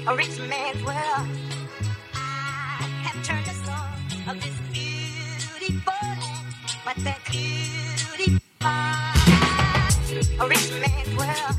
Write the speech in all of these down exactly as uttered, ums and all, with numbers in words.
a rich man's world. I have turned the soul of this beautiful land, but that beauty a rich man's world.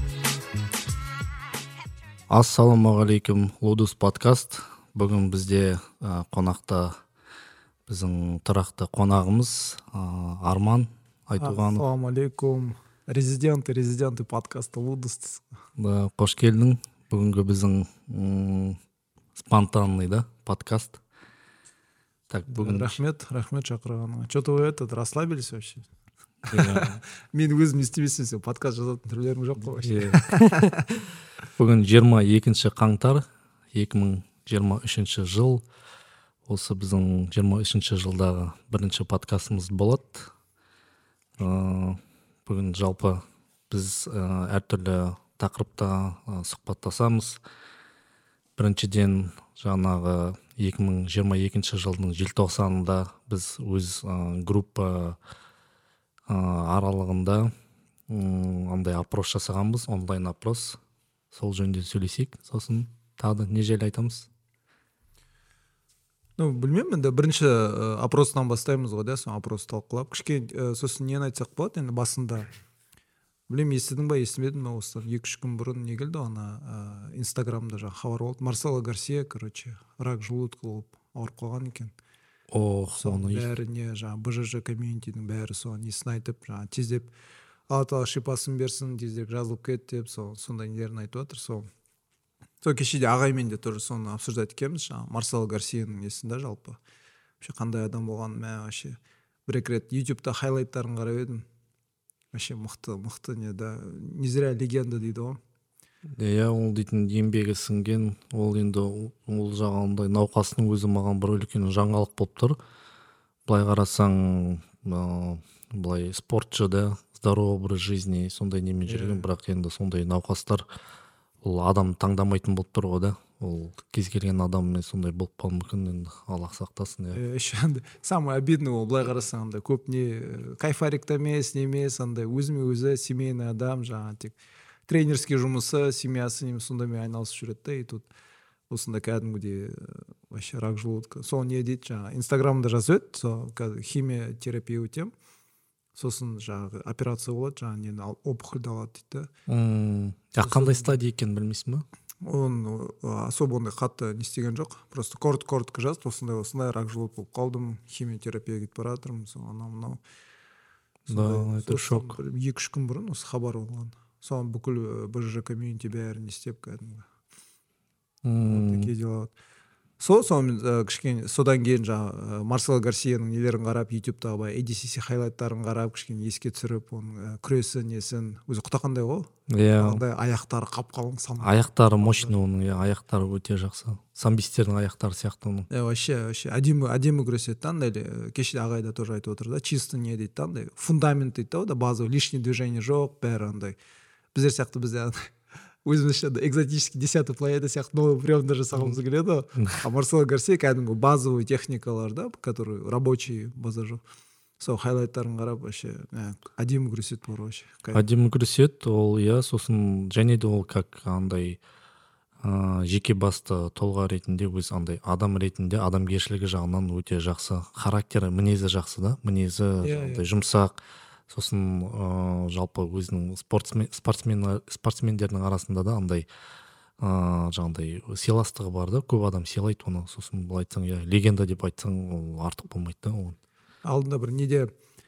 Ассалаумағалейкум, Лудус подкаст. Бүгін бізде ә, қонақта біздің тұрақты қонағымыз ә, Арман Айтуғанов. Ассалаумағалейкум. Резиденты, резиденты подкаста Лудус. Да, қош келдің. Бүгінгі біздің м, спонтанный да, подкаст. Так, бүгін... Рахмет, рахмет шақырғаныңа. Что-то вы этот расслабились вообще? Мен өзім естемесем, сен подкаст жазатын түрлерің жоқ қой вообще. Бүгін жиырма екінші қаңтар екі мың жиырма үшінші жыл. Осы біздің жиырма үшінші жылдағы бірінші подкастымыз болады. Ә, бүгін жалпы біз ә, әртүрлі тақырыпта ә, сұхбаттасамыз. Біріншіден жаңағы екі мың жиырма екінші жылдың желтоқсанында біз өз ә, группа ә, аралығында м, андай опрос жасағанбыз, онлайн опрос. Сол жөнінде сөйлесейік, сосын тағы не жайлы айтамыз? Ну, білмеймін, енді бірінші ә, опростан бастаймыз ғой, да, соң опрос талқылап. Кішкене ә, сосын нені айтсақ болады, енді басында. Білем, естідің ба, естімедің ба, осылар екі-үш күн бұрын не келді, ана ә, инстаграмда жаңа хабар болды. Марсело Гарсия, короче, рак желудка болып ауырып қалған екен. Ох, соның бәріне жаңа бэ жэ жэ комьюнитидің бәрі соған несін айтып, жаңа тездеп алла тағала шипасын берсін, тездеп жазылып кет деп, сол сондай нелерін айтып жатыр. Сол сол кешеде ағаймен де тоже соны обсуждать еткенбіз, жаңа Марсело Гарсияның несінде жалпы вообще қандай адам болғанын, мә вообще бір-екі рет ютубта хайлайттарын қарап едім. Вообще мықты, мықты не да, не зря легенда дейді ғой. Иә, ол дейтін еңбегі сіңген, ол енді ол жағандай науқастың өзі маған бір үлкен жаңалық болып тұр. Былай қарасаң, ә, былай спортшы да, здоровый образ жизни, сондай немен жүрген, бірақ енді сондай науқастар ол адам таңдамайтын болып тұр ғой да. Ол кез келген адаммен сондай болып қалуы мүмкін, енді Аллах сақтасын. Иә. Еще андай самый обидный ол былай қарасаң, андай көп не кайфарикта емес, не емес, андай өзіме өзі семейный адам, жаңа тек тренерский жұмысы, семьясы немесе сондаймен айналысып жүреді да, и тут осында кәдімгідей вообще рак желудка. Сол не дейді, жаңа инстаграмда жазып еді, сол қазір химия терапия өтем. Сосын жаңағы операция болады, жаңа нені опухольді алады дейді да. А қандай стадия екенін білмейсің ба? Он особо ондай қатты не істеген жоқ. Просто коротко-коротко жазды, осындай осындай рак желудка болып қалдым, химиотерапияға кетіп бара жатырмын, сол анау-мынау. Да, это шок. екі-үш күн бұрын осы хабар болған. Соған бүкіл бэ жэ жэ комьюнити бәрін істеп кәдімгі. Такие дела. Сол, сомен кішкене содан кейін жаңа Марсело Гарсияның нелерін қарап, ютубтағы бай эй ди си си хайлайттарын қарап, кішкене еске түсіріп, оның күресі несін, өзі құтақандай ғой? Иә. Андай аяқтары қап-қалың сан. Аяқтары мощный оның, иә, аяқтары өте жақсы. Самбистердің аяқтары сияқты оның. Иә, вообще, вообще әдемі, әдемі күреседі, андай кешеде ағайда тоже айтып отыр да, чисто не дейді, андай фундамент дейді да, базовый, лишний движение жоқ, бәрі андай. Біздер сияқты бізде өзімізше экзотический десятый планета сияқты новый приемдар жасағымыз келеді. А Марсело Гарсия кәдімгі базовый техникалар да, которые рабочий база жоқ. Сол хайлайттарын қарап вообще әдемі күреседі бар вообще. Әдемі күреседі, ол иә, сосын және де ол как андай ә, жеке басты тұлға ретінде, өз андай адам ретінде адамгершілігі жағынан өте жақсы. Характері, мінезі жақсы да, мінезі андай жұмсақ. Сосын ә, жалпы өзінің спортсмен, спортсмен, спортсмендердің арасында да андай ә, жаңағыдай сыйластығы бар да, көп адам сыйлайды оны. Сосын бұл айтсаң, иә, легенда деп айтсаң, ол артық болмайды да. Ол. Алдында бір неде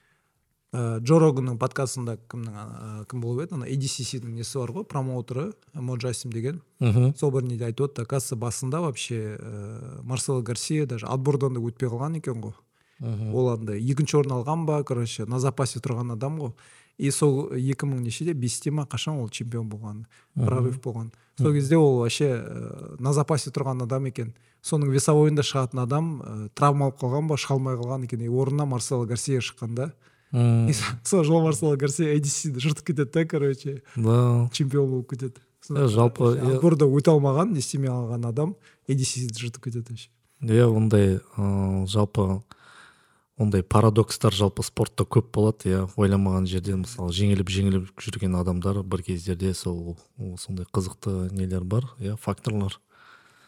ә, Джо Роганның подкастында кімнің ә, кім болып еді, ана эй ди си сидің несі бар ғой, промоутері Мо Джасим деген. Мхм. Сол бір неде айтып отты, оказывается, басында вообще ә, Марсело Гарсия даже отбордан да өтпей қалған екен ғой. Ол андай екінші орын алған ба, короче, на запасе тұрған адам ғой. И сол екі мың нешеде бесте ма қашан ол чемпион болған, прорыв болған. Сол кезде ол вообще ә, на запасе тұрған адам екен. Соның весовойында шығатын адам ә, травма алып қалған ба, шыға алмай қалған екен. И орнына Марсело Гарсия шыққанда. И сол жол Марсело Гарсия эй ди си ді жыртып кетеді да, короче. Да. Чемпион болып кетеді. Жалпы отборда өте алмаған, не істемей алған адам эй ди си ді жыртып кетеді. Иә, ондай ә, жалпы ондай парадокстар жалпы спортта көп болады, иә, ойламаған жерден мысалы жеңіліп-жеңіліп жүрген адамдар бір кездерде сол сондай қызықты нелер бар, иә, факторлар.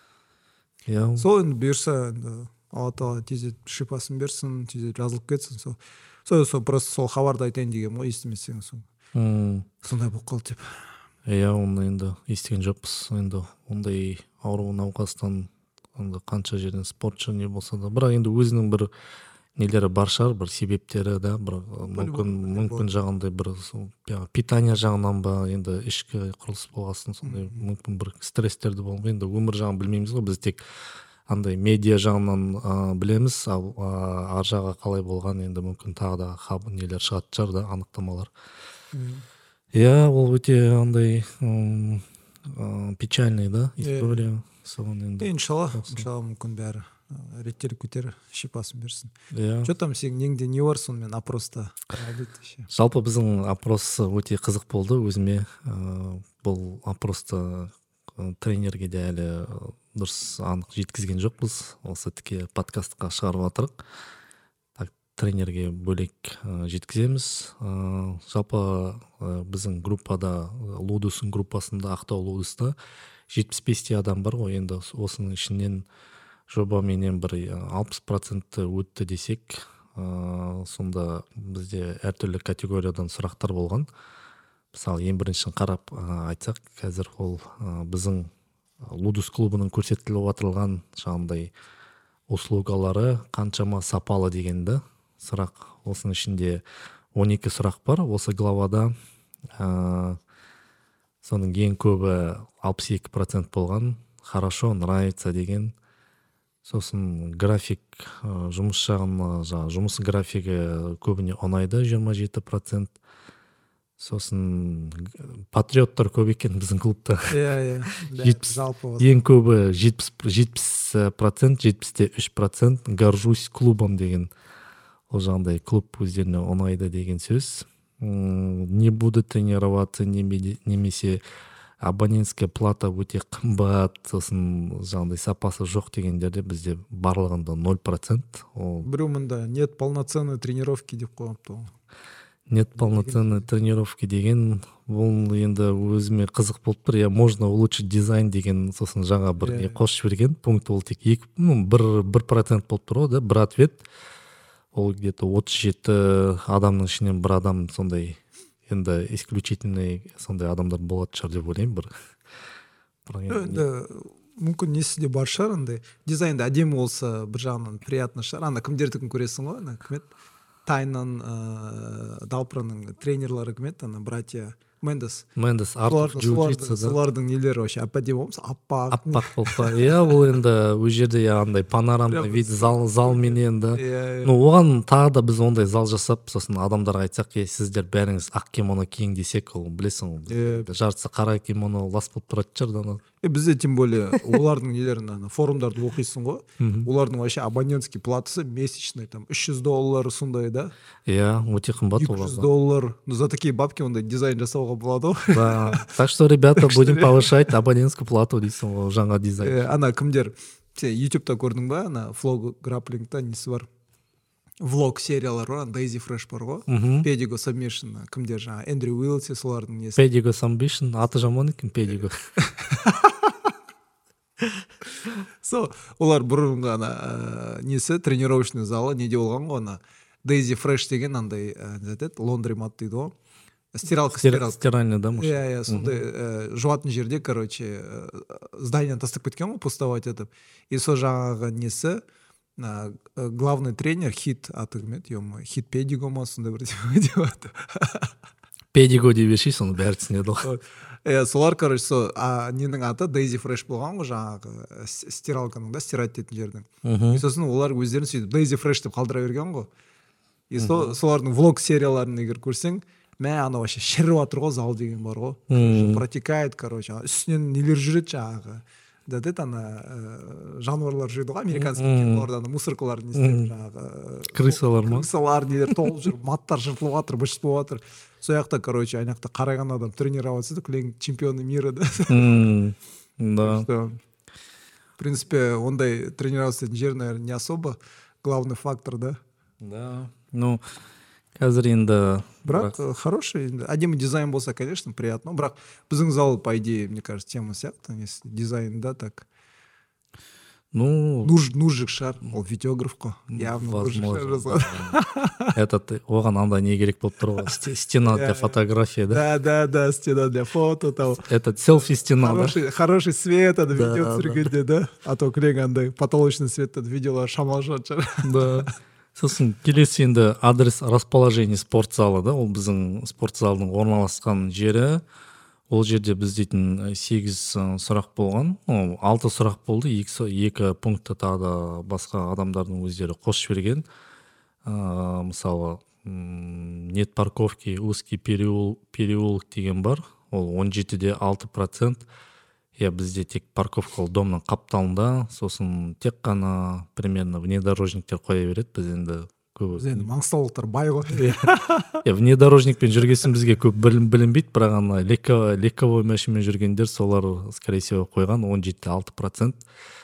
иә сол енді бұйырса енді алла тағала тездетіп шипасын берсін, тездетіп жазылып кетсін. Сол сол сол просто сол хабарды айтайын дегенмін ғой, естімесең сол М, сондай болып қалды деп. иә оны енді естіген жоқпыз. Енді ондай ауру науқастан енді қанша жерден спортшы не болса да, бірақ енді өзінің бір нелері бар шығар, бір себептері да, бір мүмкін мүмкін жағындай бір сол жаңағы питание жағынан ба, енді ішкі құрылыс болғасын, сондай мүмкін бір стресстерді болған. Енді өмір жағын білмейміз ғой, біз тек андай медиа жағынан а, білеміз, ал а, ар жағы қалай болған енді мүмкін тағы да хаб нелер шығатын шығар да, анықтамалар. Иә, ол өте андай м, а, печальный да история. Соған енді Иншалла, иншалла мүмкін бәрі ы, реттеліп кетер, шипасын берсін. иә. Что там сенің неңде не бар сонымен опроста? Жалпы біздің опрос өте қызық болды өзіме. Ә, бұл опросты ы, тренерге де әлі ы, дұрыс анық жеткізген жоқпыз. Осы тіке подкастқа шығарып жатырық. Так, тренерге бөлек ы, жеткіземіз. Ә, жалпы ы, біздің группада, ы, Лудустың группасында, Ақтау Лудуста жетпіс бесте адам бар ғой. Енді осының ішінен жобаменен бір ы, алпыс проценті өтті десек, ә, сонда бізде әртүрлі категориядан сұрақтар болған. Мысалы, ең біріншін қарап ә, айтсақ, қазір ол ә, біздің Лудус клубының көрсетіліп отырған жаңағындай услугалары қаншама сапалы дегенді сұрақ. Осының ішінде он екі сұрақ бар осы главада. Ә, соның ең көбі алпыс екі процент болған, хорошо, нравится деген. Сосын график, ә, жұмыс жағын, жаңағы жұмыс графигі көбіне ұнайды, жиырма жеті процент. Сосын г- патриоттар көп екен біздің клубта. Иә, иә. Жетпіс- Жалпы осы. Ең көбі жетпіс жетпіс процент, жетпісте үш процент горжусь клубом деген. Ол жағындай клуб өздеріне ұнайды деген сөз. М, Не буду тренироваться, неме- немесе абонентская плата өте қымбат, сосын жаңағыдай сапасы жоқ дегендерде бізде барлығында ноль процент. Ол Біреу мында нет полноценной тренировки деп қойыпты ғой. нет полноценной тренировки деген, бұл енді өзіме қызық болып тұр. Я можно улучшить дизайн деген, сосын жаңа бір Иә, не иә. қосып жіберген. Пункт ол тек екі, ну, бір, бір процент болып тұр ғой да, бір ответ. Ол где-то отыз жеті адамның ішінен бір адам сондай, енді исключительный сондай адамдар болады шығар деп ойлаймын бір. Бірақ енді Енді мүмкін несі де бар шығар, андай дизайнда әдемі болса бір жағынан приятно шығар. Ана кімдердікін көресің ғой, ана кім еді? Тайнан, ы, Далпраның тренерлары кім еді? Ана братья Мендес. Мендес, Артур Солардың- Джиу-Джитсу, солардың- да. Солардың нелері вообще әп-әдемі болмаса, аппақ. Аппақ болып па. Иә, ол енді өз жерде андай панорамный Прям вид зал залменен да. Иә, иә. Ну, оған тағы да біз ондай зал жасап, сосын адамдарға айтсақ, е, сіздер бәріңіз ақ кимоно киің десек, ол білесің, Иә. жартысы қара кимоно лас болып тұратын шығар да. ана. Е, бізде тем более олардың нелерін ана форумдарды оқисың ғой. Олардың вообще абонентский платасы месячный там үш жүз доллар сондай да. Иә, өте қымбат екі жүз оларда. доллар. Ну за такие бабки ондай дизайн жасауға болады ғой. Да. Так что, ребята, будем повышать абонентскую плату дейсің ғой, жаңа дизайн. Е, ана кімдер сен ютубта көрдің ба, ана флог граплингта несі бар, влог сериялар бар, Дейзи Фреш бар ғой, Pedigo Submission, кімдер жаңа Эндрю Уилси, солардың несі. Pedigo Submission, аты жаман екен Pedigo. Со, олар бұрынғы ана ә, несі тренировочный залы неде болған ғой, ана Дейзи Фреш деген андай ә, не айтады, лондримат дейді ғой, стиралка стиралка. Стиральный, да, может? Иә, иә, сондай ә, жуатын жерде, короче, ә, зданияны тастап кеткен ғой, пустовать етіп. И сол жаңағы несі, ә, главный тренер хит аты кім еді, ё-моё, хит Pedigo ма, сондай бір деп аты. Pedigo деп бершей, соны бәрі түсінеді ғой. Иә, солар, короче, сол а, ненің аты Дейзи Фреш болған ғой, жаңағы с- стиралканың да, стирать ететін жердің. И сосын олар өздерін сөйтіп Дейзи Фреш деп қалдыра берген ғой. И со, солардың влог серияларын егер көрсең, мә ана вообще шіріп жатыр ғой, зал деген бар ғой. Короче, протекает, короче, ана үстінен нелер жүреді жаңағы. Да, да, ана ә, жануарлар жүреді ғой, американский киноларда ана мусоркалар не істеп жаңағы. Крысалар ма? Крысалар нелер толып жүр, маттар жыртылып жатыр, бышытылып жатыр. Сол жақта, короче, ана жақта қараған адам тренироваться етіп, кілең чемпионы мира, да. М, Да. Что, в принципе, ондай тренироваться ететін жер, наверное, не особо главный фактор, да. Да. Ну, қазір енді Бірақ э, хороший, енді әдемі дизайн болса, конечно, приятно. Бірақ біздің зал, по идее, мне кажется, тема сияқты, если дизайн, да, так. Ну, Нуж нужик шығар, ол видеограф қой, явно нужик шығар возможно. жазған. Этот оған андай не керек болып тұр ғой. Сте- Стена для фотографии, да? Да, да, да, стена для фото, там. Этот селфи стена, да? Хороший, хороший свет, ана Да, видео да. түсіргенде, да? А то кілең андай потолочный светтен видеолар шамалы шығар. Да. Сосын келесі енді адрес расположение спорт залы, да? Ол біздің спорт залының орналасқан жері. Ол жерде біз дейтін сегіз ы, сұрақ болған. Ол алты сұрақ болды. Екі, екі пунктта тағы да басқа адамдардың өздері қосып жіберген. Ә, мысалы, м, нет парковки, узкий переул, переулок деген бар. Ол он жетіде алты процент. Я бізде тек парковкалы домның қапталында, сосын тек қана примерно внедорожниктер қоя береді. Біз енді көп Біз енді маңғыстаулықтар бай ғой. Е, внедорожникпен жүргесін бізге көп білін, білінбейді, бірақ ана легко- легковой машинамен жүргендер солар, скорее всего, қойған он жетіде алты процент.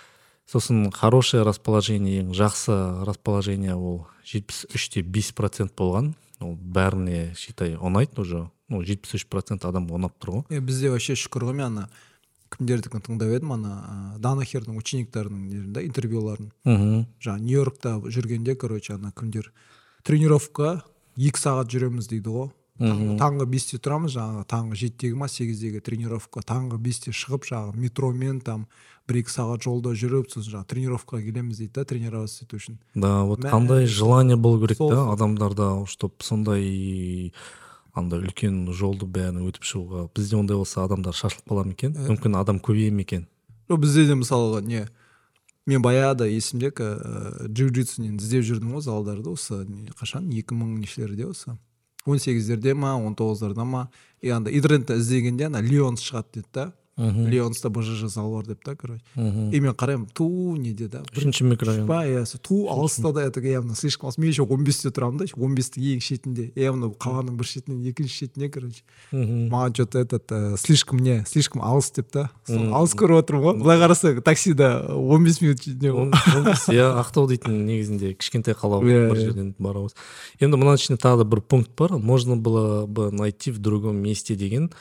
Сосын хорошее расположение, ең жақсы расположение ол жетпіс үште бес процент болған. Ол бәріне, считай, ұнайды уже. Ну, жетпіс үш процент адам ұнап тұр ғой. Е, бізде вообще шүкір ғой, мен ана кімдердікін тыңдап едім, ана Данахердің учениктерінің нерінде интервьюларын. Мгм. Жаңа Нью-Йоркта жүргенде, короче, ана кімдер тренировка екі сағат жүреміз дейді ғой. Таң- Таңғы бесте тұрамыз, жаңағы таңғы жетідегі ма сегіздегі тренировка, таңғы бесте шығып, жаңағы метромен там бір екі сағат жолда жүріп, сосын жаңағы тренировкаға келеміз дейді да, тренироваться ету үшін. Да, вот Мә- қандай желание болу керек Сол- та адамдарда, чтоб сондай андай үлкен жолды бәрін өтіп шығуға. Бізде ондай болса адамдар шашылып қала ма екен? Мүмкін адам көбейе ме екен? Жоқ, бізде де мысалға не, мен баяғыда есімде ә, джиу-джитсунен іздеп жүрдім ғой залдарды, осы не, қашан екі мың нешелерде осы он сегіздерде ма он тоғыздарда ма, и анда интернетте іздегенде ана Лионс шығады деді да. Лионста БЖЖ зал бар деп та, короче. И мен қараймын, ту неде да. Үшінші микрорайон. Ба, иә, со- ту алыста да, это явно слишком алыс. Мен еще он бесте тұрамын да, он бестің ең шетінде, явно қаланың бір шетінен екінші шетіне, короче. Маған что-то этот ә, слишком не, слишком алыс деп та. Сол алыс көріп отырмын ғой. Былай қарасаң таксида он бес минут не ғой. Иә, Ақтау дейтін негізінде кішкентай қала ғой, Иә, бір иә. жерден барамыз. Енді мына ішінде тағы да бір пункт бар. Можно было бы найти в другом месте деген.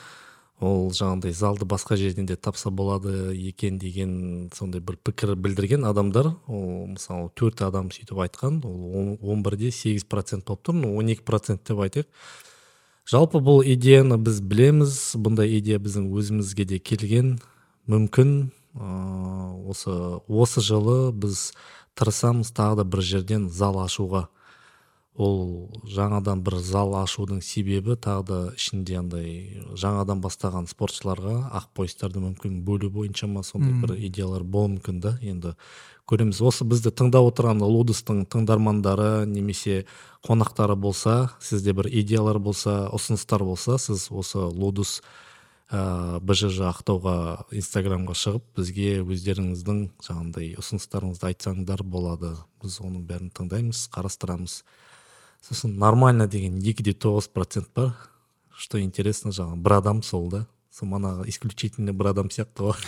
Ол жаңағыдай залды басқа жерден де тапса болады екен деген сондай бір пікір білдірген адамдар. Ол мысалы төрт адам сөйтіп айтқан. Ол он бірде сегіз процент болып тұр. Ну, он екі процент деп айтайық. Жалпы бұл идеяны біз білеміз. Бұндай идея біздің өзімізге де келген. Мүмкін ә, осы осы жылы біз тырысамыз тағы да бір жерден зал ашуға. Ол жаңадан бір зал ашудың себебі тағы да ішінде андай жаңадан бастаған спортшыларға ақпойыстарды мүмкін бөлу бойынша ма сондай бір идеялар болуы мүмкін да. Енді көреміз. Осы бізді тыңдап отырған Лудустың тыңдармандары немесе қонақтары болса, сізде бір идеялар болса, ұсыныстар болса, сіз осы Лудус ә, БЖЖ Ақтауға инстаграмға шығып бізге өздеріңіздің жаңағындай ұсыныстарыңызды айтсаңдар болады. Біз оның бәрін тыңдаймыз, қарастырамыз. Сосын нормально деген екі де тоғыз процент бар. Что интересно, жаңағы бір адам сол да. Сол мана исключительно бір адам сияқты ғой.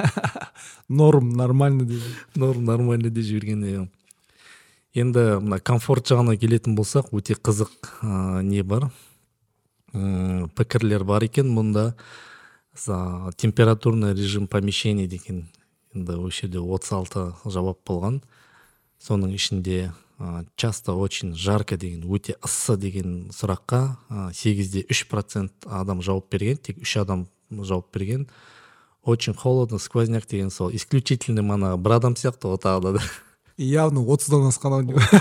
Норм, нормально дейді. Норм, нормально деп жіберген. иә. Енді мына комфорт жағына келетін болсақ, өте қызық ә, не бар. М, пікірлер бар екен мұнда. За температурный режим помещения деген. Енді осы жерде отыз алты жауап болған. Соның ішінде ә, часто очень жарко деген, өте ыссы деген сұраққа ә, сегізде үш процент адам жауап берген, тек үш адам жауап берген. Очень холодно, сквозняк деген сол. Исключительно мана бір адам сияқты ғой тағы да. Явно отыздан асқан ау деймін.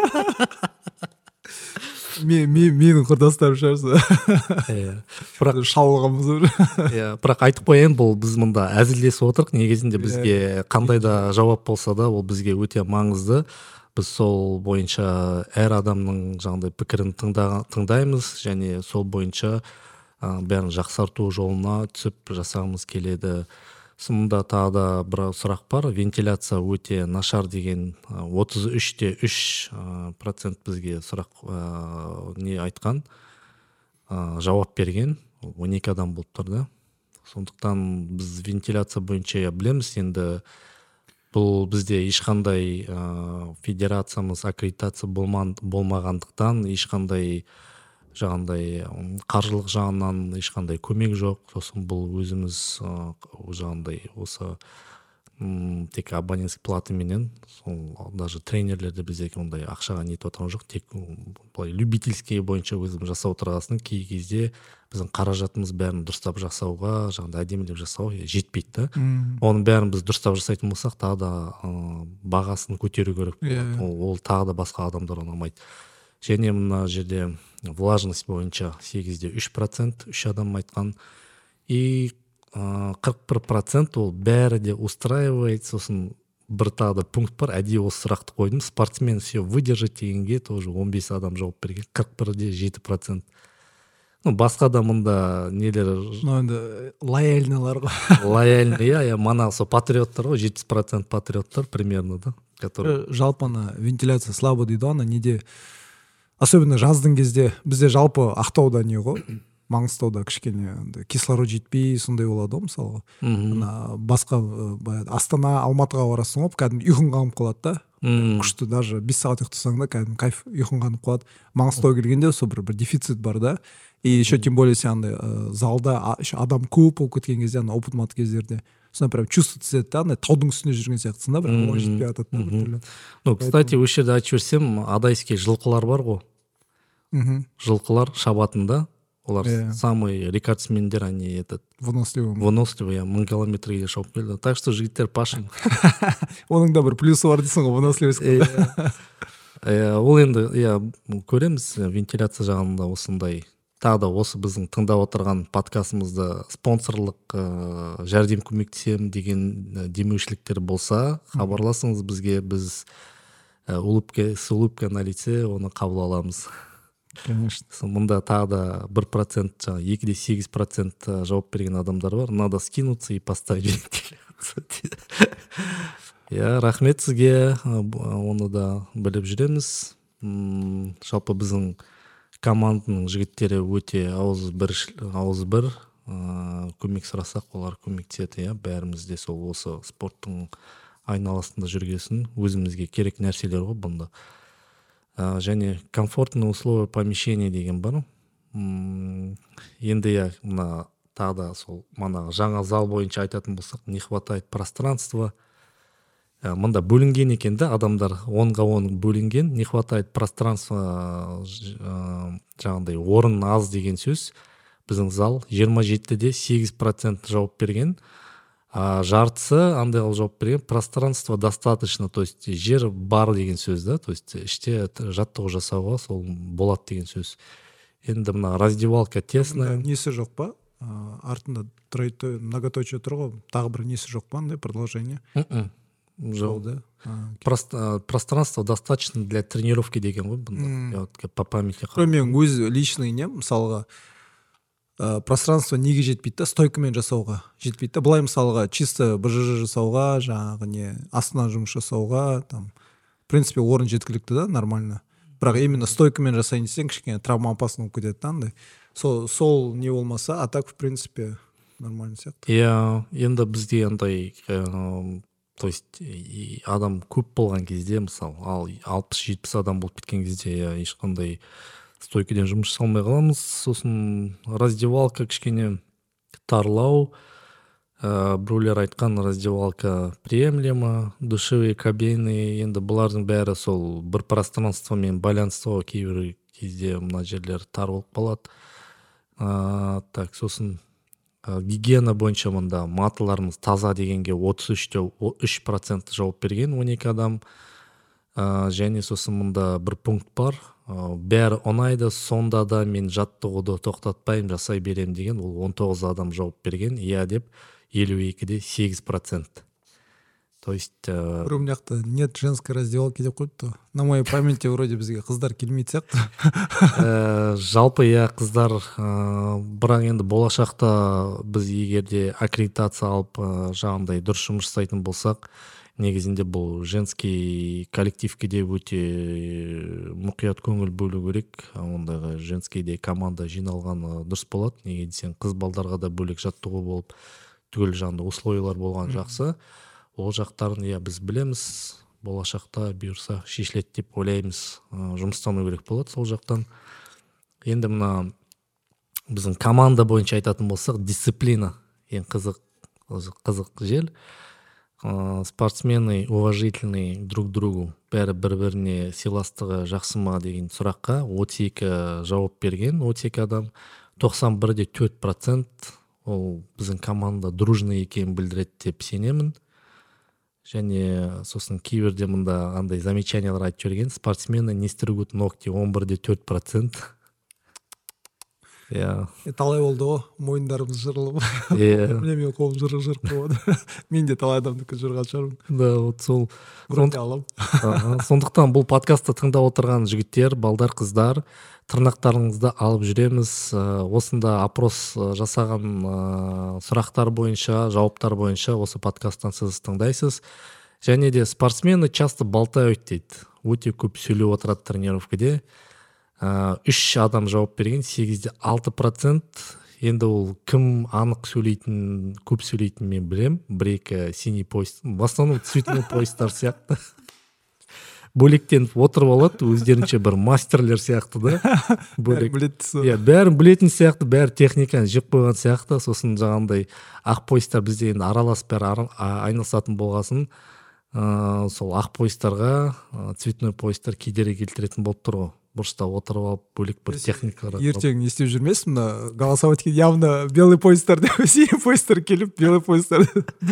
Мен мен менің құрдастарым шығарса. Иә. Бірақ Шалғанбыз уже. иә, бірақ айтып қояйын, бұл біз мында әзілдесіп отырық. Негізінде бізге қандай да жауап болса да, ол бізге өте маңызды. Біз сол бойынша әр адамның жаңағыдай пікірін тыңда, тыңдаймыз және сол бойынша ә, бәрін жақсарту жолына түсіп жасағымыз келеді. Сонда тағы да бір сұрақ бар. Вентиляция өте нашар деген ә, отыз үште үш процент бізге сұрақ ә, не айтқан, ә, жауап берген. он екі адам болып тұр да. Сондықтан біз вентиляция бойынша білеміз. Енді бұл бізде ешқандай ә, федерациямыз аккредитация болман, болмағандықтан ешқандай жаңағындай қаржылық жағынан ешқандай көмек жоқ. Сосын бұл өзіміз ә, жаңағындай осы м, тек абонентский плата менен сол даже тренерлерде биздеки ондай акчага нетип аткан жок, тек былай любительский боюнча өзүң жасап отурасың. Кей кезде биздин каражатыбыз баарын дурустап жасауга, жагында адемилеп жасауга жетпейт да. Онун баарын биз дурустап жасайтын болсак, дагы да багасын көтөрүү керек болот. Ол дагы да башка адамдар унамайт. Және мына жерде влажность боюнча сегизде үч процент үч адам айткан. И кырк бир процент ол баары де устраивает. Сосын бір тағы да пункт бар, әдейі осы сұрақты қойдым. Спортсмен все выдержать дегенге тоже он бес адам жауап берген, қырық бірде жеті процент. Ну, басқа да мында нелер... Ну, енді лояльныйлар ғой. Лояльный, иә, мана сол патриоттар ғой, жетпіс процент патриоттар примерно, да. Который... Жалпы ана вентиляция слабо дейді, ана неде... Особенно жаздың кезде, бізде жалпы Ақтауда не ғой, Маңғыстауда кішкене кислород жетпей сондай болады ғой, мысалға. Ана басқа Астана, Алматыға барасың ғой, кәдімгі ұйқың қанып қалады да. Күшті, даже бес сағат ұйықтасаң да кәдімгі кайф, ұйқың қанып қалады. Маңғыстауға келгенде сол бір бір дефицит бар да. И еще тем более сен андай залда еще адам көп болып кеткен кезде, ана опыт мат кездерде сонда прям чувствуется да, андай таудың үстінде жүрген сияқтысың да, бірақ оған жетпей жатады да біртүрлі. Ну, кстати, осы жерде айтып жіберсем, адайский жылқылар бар ғой. Жылқылар шабатында. Олар yeah. самый рекордсмендер, они этот... Выносливый. Выносливый, я мың километрге шауып келді. Так что жігіттер пашың. Оның да бір плюсы бар дейсің ғой, выносливость. Ол енді, я көреміз, вентиляция жағында осындай. Тағы да осы біздің тыңдап отырған подкастымызда спонсорлық жәрдем көмектесем деген демеушіліктер болса, хабарласыңыз бізге, біз улыбка, с улыбкой на лице оны қабыл аламыз. Конечно. Мында тағы да бір процент, екі де сегіз процент жауап берген адамдар бар. Надо скинуться и поставить вентиляцию. Я рахмет сізге, оны да біліп жүреміз. Жалпы біздің команданың жігіттері өте ауыз бір, ауыз бір көмек сұрасақ, олар көмектеседі. Бәрімізде сол осы спорттың айналасында жүргесін, өзімізге керек нәрселер ғой бұнда. Және комфортные условия помещения деген бар. Енді я мына тағы да сол мана жаңа зал бойынша айтатын болсақ, не хватает пространства. Мында бөлінген екен да, адамдар онға он бөлінген, не хватает пространства, жаңағыдай орын аз деген сөз. Біздің зал жиырма жетіде сегіз процент жауап берген. А жартысы андай жауап берген, пространство достаточно, то есть жер бар деген сөз да, то есть іште жаттығу жасауға сол болады деген сөз. Енді мына раздевалка тесная. Несі жоқ па? Артында многоточие тұр ғой, тағы бір несі жоқ па, андай продолжение? Жоқ. Пространство достаточно для тренировки деген ғой бұнда. По памяти. Мен өз личный не, мысалға, пространство неге жетпейді да, стойкамен жасауға жетпейді да. Былай мысалға чисто бжж жасауға, жаңағы не астынан жұмыс жасауға, там в принципе орын жеткілікті да, нормально. Бірақ именно стойкамен жасайын десең кішкене травма опасно болып кетеді да, андай. Сол сол не болмаса, а так в принципе нормально сияқты. Иә, енді бізде андай, то есть адам көп болған кезде, мысалы, ал алпыс жетпіс адам болып кеткен кезде ешқандай стойкіден жұмыс жасалмай қаламыз. Сосын раздевалка кішкене тарлау. Біреулер айтқан раздевалка приемлемо, душевые кабины. Енді бұлардың бәрі сол бір пространствомен байланысты кейбір кезде мына жерлер тар болып қалады. Так, сосын гигиена бойынша мында маталарымыз таза дегенге отыз үште үш процент жауап берген, он екі адам. Және сосын мында бір пункт бар. Бәрі ұнайды, сонда да мен жаттығуды тоқтатпайым, жасай берем деген, ол он тоғыз адам жауап берген, иә деп елу екіде сегіз процент. То есть... Бір мыняқта нет женской раздевалки деп қойыпты. На моей памяти вроде бізге қыздар келмейді сияқты. Жалпы иә қыздар, бірақ енді болашақта біз егерде аккредитация алып жаңағындай дұрыс жұмыс жасайтын болсақ, негізінде бұл женский коллективке де өте мұқият көңіл бөлу керек. Ондағы женскийде команда жиналған дұрыс болады. Неге десең, қыз балдарға да бөлек жаттығу болып, түгел жанды условиялар болған жақсы. Ол жақтарын иә біз білеміз, болашақта бұйырса шешіледі деп ойлаймыз. Жұмыстану керек болады сол жақтан. Енді мына біздің команда бойынша айтатын болсақ, дисциплина ең қызық қызық жел. ә, спортсмены уважительный друг другу, бәрі бір біріне сыйластығы жақсы ма деген сұраққа отыз екі жауап берген. отыз екі адам, тоқсан бір де төрт процент ол біздің команда дружный екенін білдіреді деп сенемін. Және сосын кейбірде мында андай замечаниялар айтып жіберген: спортсмены не стригут ногти, он бір де төрт процент. Иә. Талай болды ғой, мойындарымыз жырылып. Иә. Міне мен қолым жырық жырық болады. Мен де талай адамдікі жырған шығармын. Да, вот сол. Гроте алам. Сондықтан бұл подкастты тыңдап отырған жігіттер, балдар, қыздар, тырнақтарыңызды алып жүреміз. Осында опрос жасаған сұрақтар бойынша, жауаптар бойынша осы подкасттан сіз тыңдайсыз. Және де спортсмены часто болтают дейді. Өте көп сөйлеп отырады тренировкаде. Үш адам жауап берген, сегізде алты процент. Енді ол кім анық сөйлейтін, көп сөйлейтін мен білем. Бір-екі синий поезд, в основном цветной поездар сияқты. Бөлектеніп отырып алады, өздерінше бір мастерлер сияқты да. Бәрі білетін. Иә, бәрін білетін сияқты, бәрі техниканы жеп қойған сияқты. Сосын жаңағындай ақ поездар бізде енді аралас бәрі айналысатын болғасын, сол ақ поездарға цветной поездар кедергі келтіретін болып тұр ғой. Бұрышта отырып алып, бөлек бір техникалар. Ертең не істеп жүрмесін, мына голосовать еткен явно белый поездар деп, синий поездар келіп, белый поездар.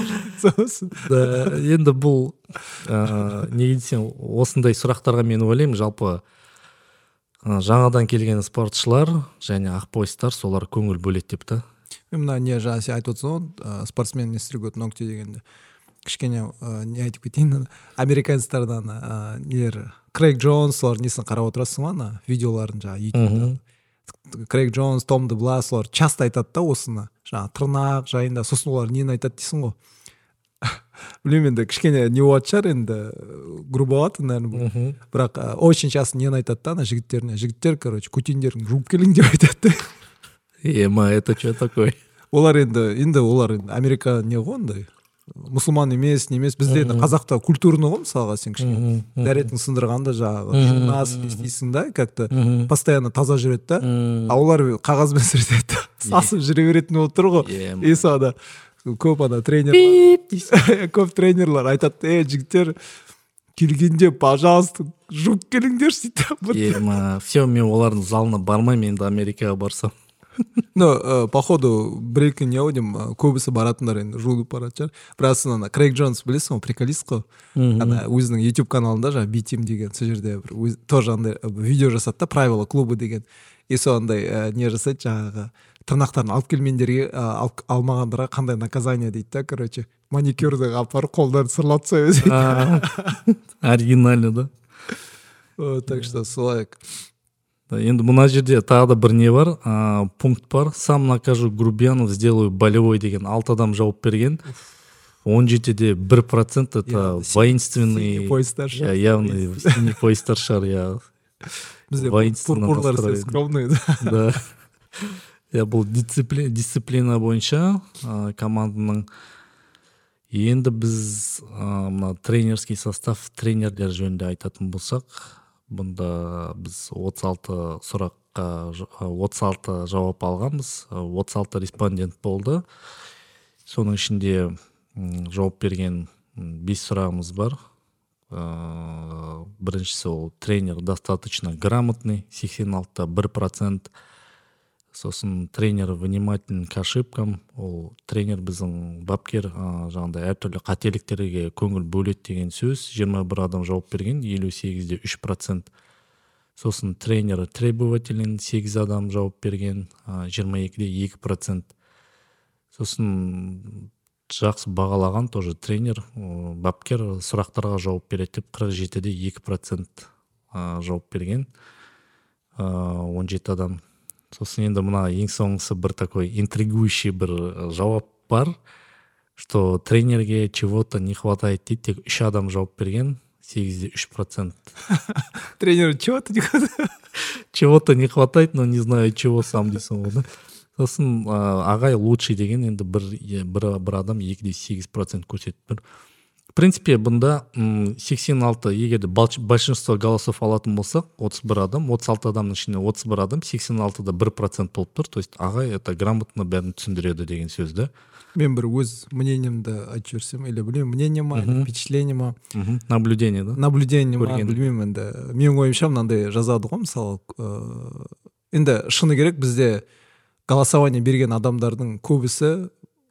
Да, енді бұл неге десең, осындай сұрақтарға мен ойлаймын, жалпы жаңадан келген спортшылар және ақ поездар солар көңіл бөледі деп та. Мен мына не жаңа сен айтып отырсың ғой, спортсмен не стригут ногти дегенде. Кішкене не айтып кетейін, американецтердан нелер Крейг Джонс, солар несін қарап отырасың ма, видеоларын жаңа ютубта. Крейг Джонс, Том де Блас, солар часто айтады да осыны, жаңа тырнақ жайында, сосын олар нені айтады дейсің ғой. Білмеймін, енді кішкене не болады шығар, енді грубовато, наверное, бірақ очень часто нені айтады да, ана жігіттеріне, жігіттер, короче, кутиндерін жуып келің деп айтады. Ема, это что такое? Олар енді, енді олар енді Америка не ғой ондай. Мұсылман емес, немес, бізде енді қазақта культурны ғой, мысалға сен кішкене дәретін сындырғанда жаңағы жинас істейсің да, как-то постоянно таза жүреді да, а олар қағазбен сүртеді, сасып жүре беретін болып тұр ғой. И сода көп ана тренерлар, көп тренерлар айтады: "Ей, жігіттер, келгенде, пожалуйста, жуып келіңдерші" дейді. Ема, все, мен олардың залына бармаймын, енді Америкаға барсам. Ну, походу, бір-екі не аудим, көбісі баратындар енді жуылып барады шығар. Бірақ ана Крейг Джонс білесің ғой, приколист қой. Ана өзінің YouTube каналында жаңа B-Team деген сол жерде бір тоже андай видео жасады да, правила клубы деген. И сондай не жасайды, жаңағы тырнақтарын алып келмендерге, алмағандарға қандай наказание дейді да, короче. Маникюрді апарып қолдарын сырлатса өзі. Оригинально, да? Так что солай. Енді мына жерде тағы да бір не бар, ә, пункт бар. Сам накажу грубиянов, сделаю болевой деген алты адам жауап берген. он жетіде бір процент это воинственный, явный синий поездар шығар, я воинственно скромный. Да. Я бұл дисциплина, дисциплина бойынша ә, команданың. Енді біз ә, тренерский состав, тренерлер жөнінде айтатын болсақ, бұнда біз отыз алты сұраққа отыз алты жауап алғанбыз, отыз алты респондент болды. Соның ішінде жауап берген бес сұрағымыз бар. Біріншісі ол тренер достаточно грамотный, сексен алтыда бір процент. Сосын тренер внимателен к ошибкам, ол тренер біздің бапкер жаңағыдай әртүрлі қателіктерге көңіл бөледі деген сөз. жиырма бір адам жауап берген, елу сегізде үш процент. Сосын тренер требователен, сегіз адам жауап берген, жиырма екіде екі процент. Сосын жақсы бағалаған тоже тренер, бапкер сұрақтарға жауап береді деп қырық жетіде екі процент жауап берген, он жеті адам. Сосын енді мына ең соңғысы бір такой интригующий бір жауап бар, что тренерге чего-то не хватает дейді, тек үш адам жауап берген, сегізде үш процент. Тренеру чего-то не хватает? Чего-то не хватает, но не знаю чего сам дейсің ғой. Сосын ағай лучший деген енді бір, бір, бір адам екіде сегіз процент көрсетіп бір. В принципе бұнда м, сексен алты, егерде балч- большинство голосов алатын болсақ, отыз бір адам, отыз алты адамның ішінде отыз бір адам, сексен алтыда бір процент болып тұр. То есть ағай это грамотно бәрін түсіндіреді деген сөз да. Мен бір өз мнениемді айтып жіберсем, или білмеймін, мнение ма, или впечатление ма, Мгм. Наблюдение, да? наблюдение ма, Көрген. білмеймін енді. Менің ойымша мынандай жазады ғой, мысалы, ыыы, енді шыны керек бізде голосование берген адамдардың көбісі,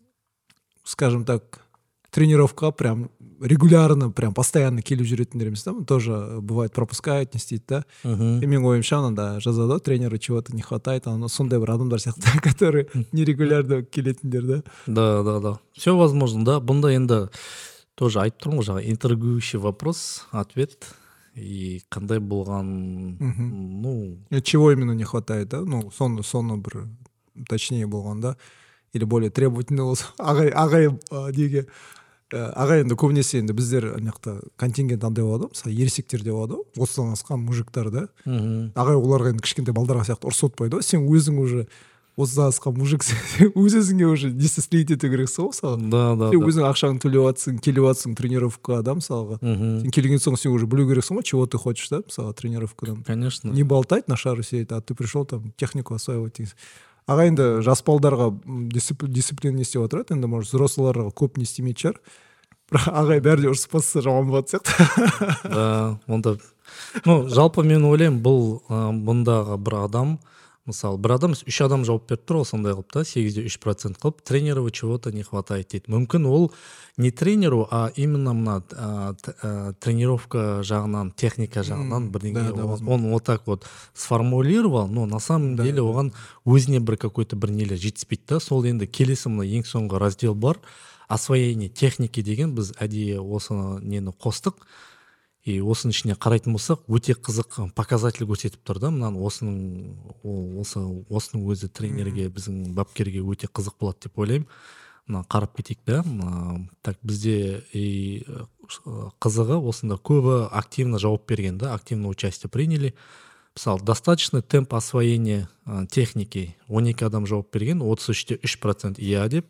скажем так, тренировка прям регулярно, прям постоянно келіп жүретіндер емес та, тоже бывает пропускают, не істейді да. Мгм. И менің ойымша мынада жазады ғой, тренеру чего-то не хватает, ана сондай бір адамдар сияқты, которые нерегулярно келетіндер да. Да, да, да. Все возможно, да. Бұнда енді тоже айтып тұрмын ғой, жаңа интригующий вопрос, ответ. И қандай болған, Мгм. ну, И чего именно не хватает, да? Ну, соны, соны бір точнее болған да. Или более требовательный болса. Ағай, ағай а, неге ә, ағай енді көбінесе енді біздер ана жақта контингент андай болады ғой, мысалы ересектер деп болады ғой, отыздан асқан мужиктар да. мгм. Ағай оларға енді кішкентай балдарға сияқты ұрсытпайды ғой. Сен өзің уже отыздан асқан мужиксің, өз өзіңе уже несі істейді ету керексің ғой мысалы. Да, да, Сен да. өзің ақшаңды төлеп жатсың, келіп жатсың тренировкаға да мысалға. Мгм. Сен келген соң сен уже білу керексің ғой, чего ты хочешь да, мысалы тренировкадан. Конечно. Не болтать на шару сидеть, а ты пришел там технику осваивать дейсің. Аға енді жас балдарға м, дисцип- дисциплина не істеп отырады, енді может взрослыларға көп не істемейтін шығар. Бірақ ағай бәрі де ұрысып бастаса жаман болатын сияқты. Да, онда, ну, жалпы мен ойлаймын, бұл ә, бұндағы бір адам, мысалы, бір адам, үш адам жауап беріп тұр, ол сондай қылып та, сегізде үш процент қылып, тренеру чего-то не хватает дейді. Мүмкін ол не тренеру, а именно мына ә, т- ә, тренировка жағынан, техника жағынан М, бірдеңе, да, да, он, возможно. он вот так вот сформулировал, но на самом Да, деле да. оған өзіне бір какой-то бір нелер жетіспейді да. Сол енді келесі мына ең соңғы раздел бар, освоение техники деген, біз әдейі осы нені қостық. И осының ішіне қарайтын болсақ, өте қызық показатель көрсетіп тұр да. Мынаны осының ол- осы осының өзі тренерге, біздің бапкерге өте қызық болады деп ойлаймын. Мына қарап кетейік да. Мына, так бізде и э, қызығы осында көбі активно жауап берген да, активно участие приняли. Мысалы, достаточно темп освоения э, техники он екі адам жауап берген, отыз үште үш процент иә деп.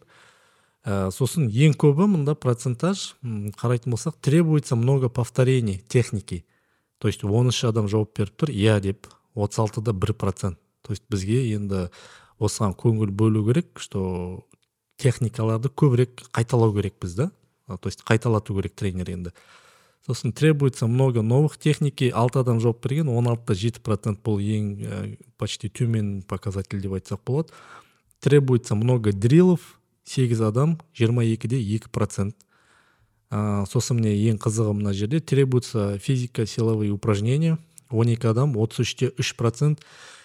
Ә, сосын ең көбі мында процентаж м, қарайтын болсақ, требуется много повторений техники. То есть он үш адам жауап беріп тұр, иә деп, отыз алтыда бір процент. То есть бізге енді осыған көңіл бөлу керек, что техникаларды көбірек қайталау керек біз да. А, То есть қайталату керек тренер енді. Сосын требуется много новых техники, алты адам жауап берген, он алтыда жеті процент бұл ең ә, почти төмен показатель деп айтсақ болады. Требуется много дрилов, сегіз адам, жиырма екіде екі процент. А, сосын мне ең қызығы мына жерде требуется физика силовые упражнения, он екі адам, отыз үште үш процент.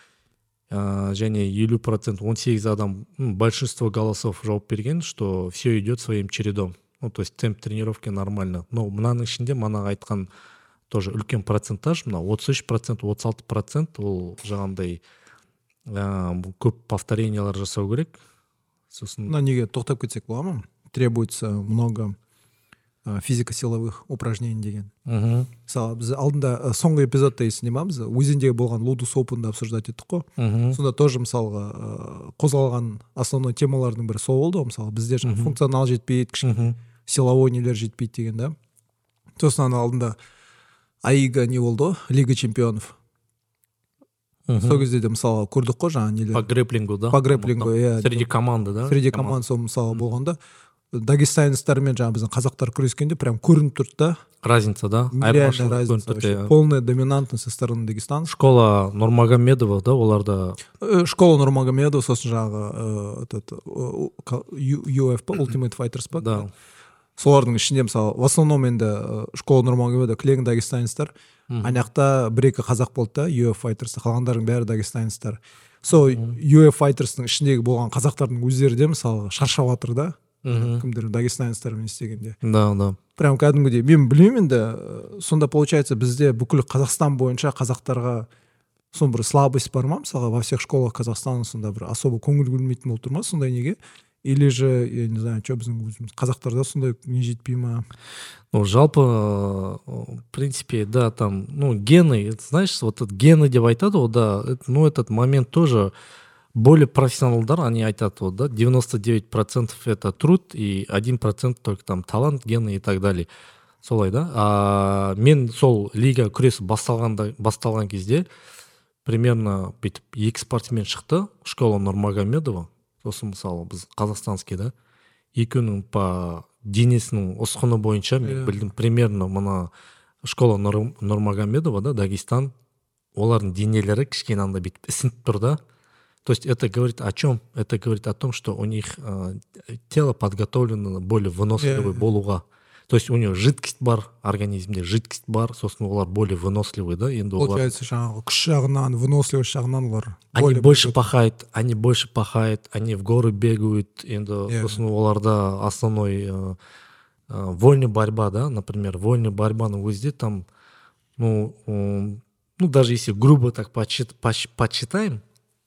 А, және елу процент, он сегіз адам, м, большинство голосов жауап берген, что все идет своим чередом. Ну, то есть темп тренировки нормально. Но мынаның ішінде манағы айтқан тоже үлкен процентаж, мына отыз үш процент, отыз алты процент ол жаңағындай ә, бұл көп повторениялар жасау керек. Сосын Мына неге тоқтап кетсек бола ма? Требуется много ә, физико-силовых упражнений деген. мгм, Мысалы біз алдында ә, соңғы эпизодта есінде ма, біз өзендегі болған лудус опенді обсуждать еттік қой. мгм, Сонда тоже мысалға ә, қозғалған основной темалардың бірі сол болды ғой, мысалы бізде жаңа Мгм. функционал жетпейді, кішкене мгм, силовой нелер жетпейді деген да. Сосын ана алдында аига не болды ғой, лига чемпионов. мгм. Сол кезде де мысалы көрдік қой жаңа По нелер. грэплингу, да? По грэплингу, иә. Среди команды, да? Среди команд сол мысалы болғанда дагестанецтармен жаңа біздің қазақтар күрескенде прям көрініп тұрды да. Разница, да? Реально Айырмашылық разница көрініп вообще. тұрды, иә. Полная доминантность со стороны Дагестана. Школа Нурмагомедова, да, оларда Э, Школа Нурмагомедова, сосын жаңағы э, этот э, ка- Ю- ю эф пе, Ultimate Fighters па. да. Солардың ішінде мысалы в основном енді э, школа Нурмагомедова кілең дагестанецтар. Мгм. Ана жақта бір екі қазақ болды да, ю эф Fighterс'та, қалғандардың бәрі дагестанецтар. Сол ю эф Fighters'тың ішіндегі болған қазақтардың өздері де мысалы шаршап жатыр да. Мгм. Кімдер дагестанецтармен істегенде. Да, да. Прям кәдімгідей мен білмеймін енді э, сонда получается бізде бүкіл Қазақстан бойынша қазақтарға сон бір слабость бар ма мысалға во всех школах Казахстана сонда бір особо көңіл бөлмейтін болып тұр ма сондай неге, или же я не знаю что біздің өзіміз қазақтарда сондай не жетпей ма? Ну, жалпы, э, в принципе, да, там, ну, гены, это, знаешь, вот этот гены деп айтады ғой, да, это, ну, этот момент тоже более профессионалдар, они айтады вот, да, девяносто девять процентов это труд и один процент только там талант, гены и так далее. солай да. А мен сол лига күресі басталғанда басталған кезде примерно бүйтіп екі спортсмен шықты, Школа Нурмагомедова, сосын мысалы біз қазақстанский да, екеуінің по денесінің ұсқыны бойынша мен білдім примерно мына Школа Нурмагомедова да, Дагестан, олардың денелері кішкене андай бүйтіп ісініп тұр да. То есть это говорит о чем? Это говорит о том, что у них э, тело подготовлено более выносливый yeah. болуға. То есть у него жидкость бар, организмде жидкость бар, сосын олар более выносливый, да, енді олар... Получается, жаңағы күш жағынан, выносливость жағынан олар... Они больше пахают, они больше пахают, они в горы бегают, енді yeah. сосын оларда основной э, э, вольная борьба, да, например, вольная борьбаның өзде там, ну, э, ну, даже если грубо так подсчит, подсчитаем,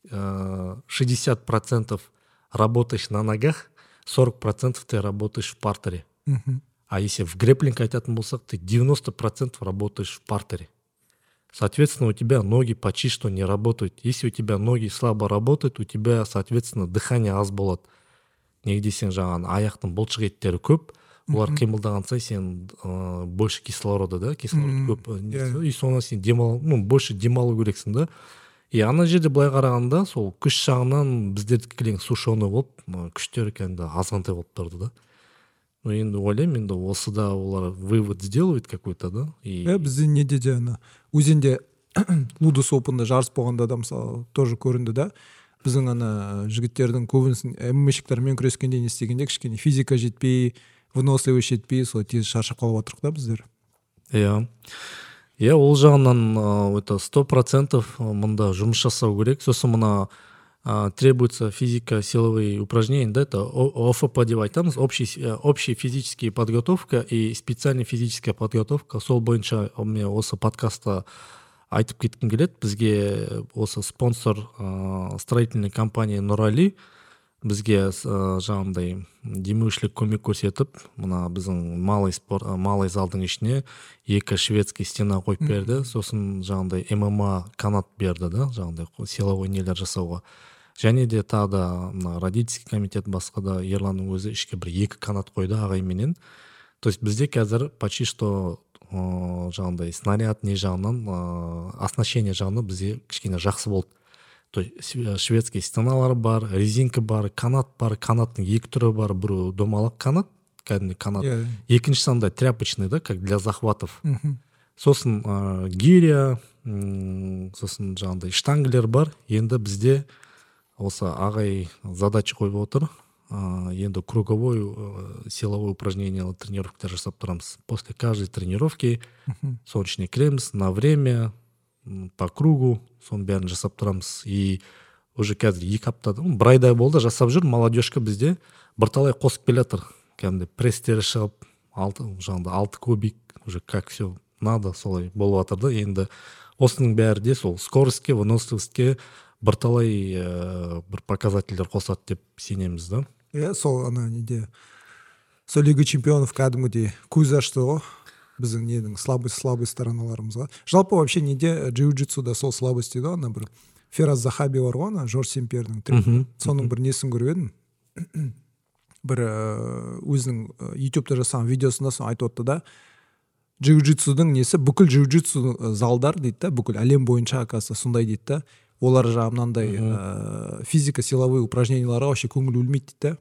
шестьдесят процентов работаешь на ногах, сорок процентов ты работаешь в партере. Uh-huh. А если в грэпплинг айтатын болсақ, ты девяносто процентов работаешь в партере. Соответственно, у тебя ноги почти что не работают. Если у тебя ноги слабо работают, у тебя, соответственно, дыхание аз болады. Негде сен жаңағы аяқтың бұлшық еттері көп, олар қимылдаған сайын сен ә, больше кислорода, да, кислород uh-huh. көп. Yeah. И соны сен демал, ну, больше демалу керексің да. И ана жерде былай қарағанда сол күш жағынан біздердікі кілең сушеный болып, күштері кәдімгі азғантай болып тұрды да. Ну енді ойлаймын, енді осы да олар вывод сделают какой-то, да. И... Ә, бізде неде де ана өзенде Лудос Опында жарыс болғанда да мысалы тоже көрінді да. Біздің ана жігіттердің көбісін эммешіктермен күрескенде не істегенде кішкене физика жетпей, выносливость жетпей, сол тез шаршап қалып отырық да біздер. Иә. Иә, ол жағынан это сто процентов мында жұмыс жасау керек. Сосын мына требуется физико-силовые упражнения, да, это о эф пэ деп айтамыз, общий, общая физическая подготовка и специальная физическая подготовка. Сол бойынша мен осы подкастта айтып кеткім келеді. Бізге осы спонсор строительный компания Нурали бізге жаңағындай демеушілік көмек көрсетіп, мына біздің малый спорт, малый залдың ішіне екі шведский стена қойып берді. Сосын жаңағындай эм эм а канат берді, да, жаңағындай силовой нелер жасауға. Және де тағы да родительский комитет басқа да Ерланның өзі ішке бір екі канат қойды ағайменен. То есть бізде қазір почти что жаңағындай снаряд не жағынан, оснащение жағынан бізде кішкене жақсы болды. То есть шведский стеналар бар, резинка бар, канат бар, канаттың екі түрі бар, бір домалақ канат, кәдімгі канат, yeah. екіншісі андай тряпочный, да, как для захватов. Uh-huh. Сосын ә, гиря, сосын жаңағындай штангелер бар. Енді бізде осы ағай задача қойып отыр. Ә, енді круговой ә, силовой упражнение тренировкалар жасап тұрамыз. После каждой тренировки uh-huh. солнечный крем на время, по кругу, соның бәрін жасап тұрамыз. И уже қазір екі аптада, бір айдай болды жасап жүр, молодежка бізде бірталай қосып келатыр. Кәдімгі пресстері шығып, алты, жаңағыдай алты кубик, уже как все надо, солай болып жатыр да. Енді осының бәрі де сол скоростьке, выносливостьке бірталай ә, бір показательдер қосады деп сенеміз да. Иә, сол ана неде сол Лига чемпионов кәдімгідей көз ашты ғой. Біздің ненің слабый слабый стороналарымызға. Жалпы вообще неде джиу-джитсуда сол слабость дейді, ана бір Фераз Захаби бар ғой, ана Жорж Сен-Пьердің тренері. Соның бір несін көріп едім. Бір өзінің ютубта жасаған видеосында сон айтып отты да, джиу-джитсудың несі бүкіл джиу-джитсу залдар дейді да, бүкіл әлем бойынша оказывается сондай дейді да. Олар жаңағы мынандай физика силовые упражненияларға вообще көңіл бөлмейді дейді да.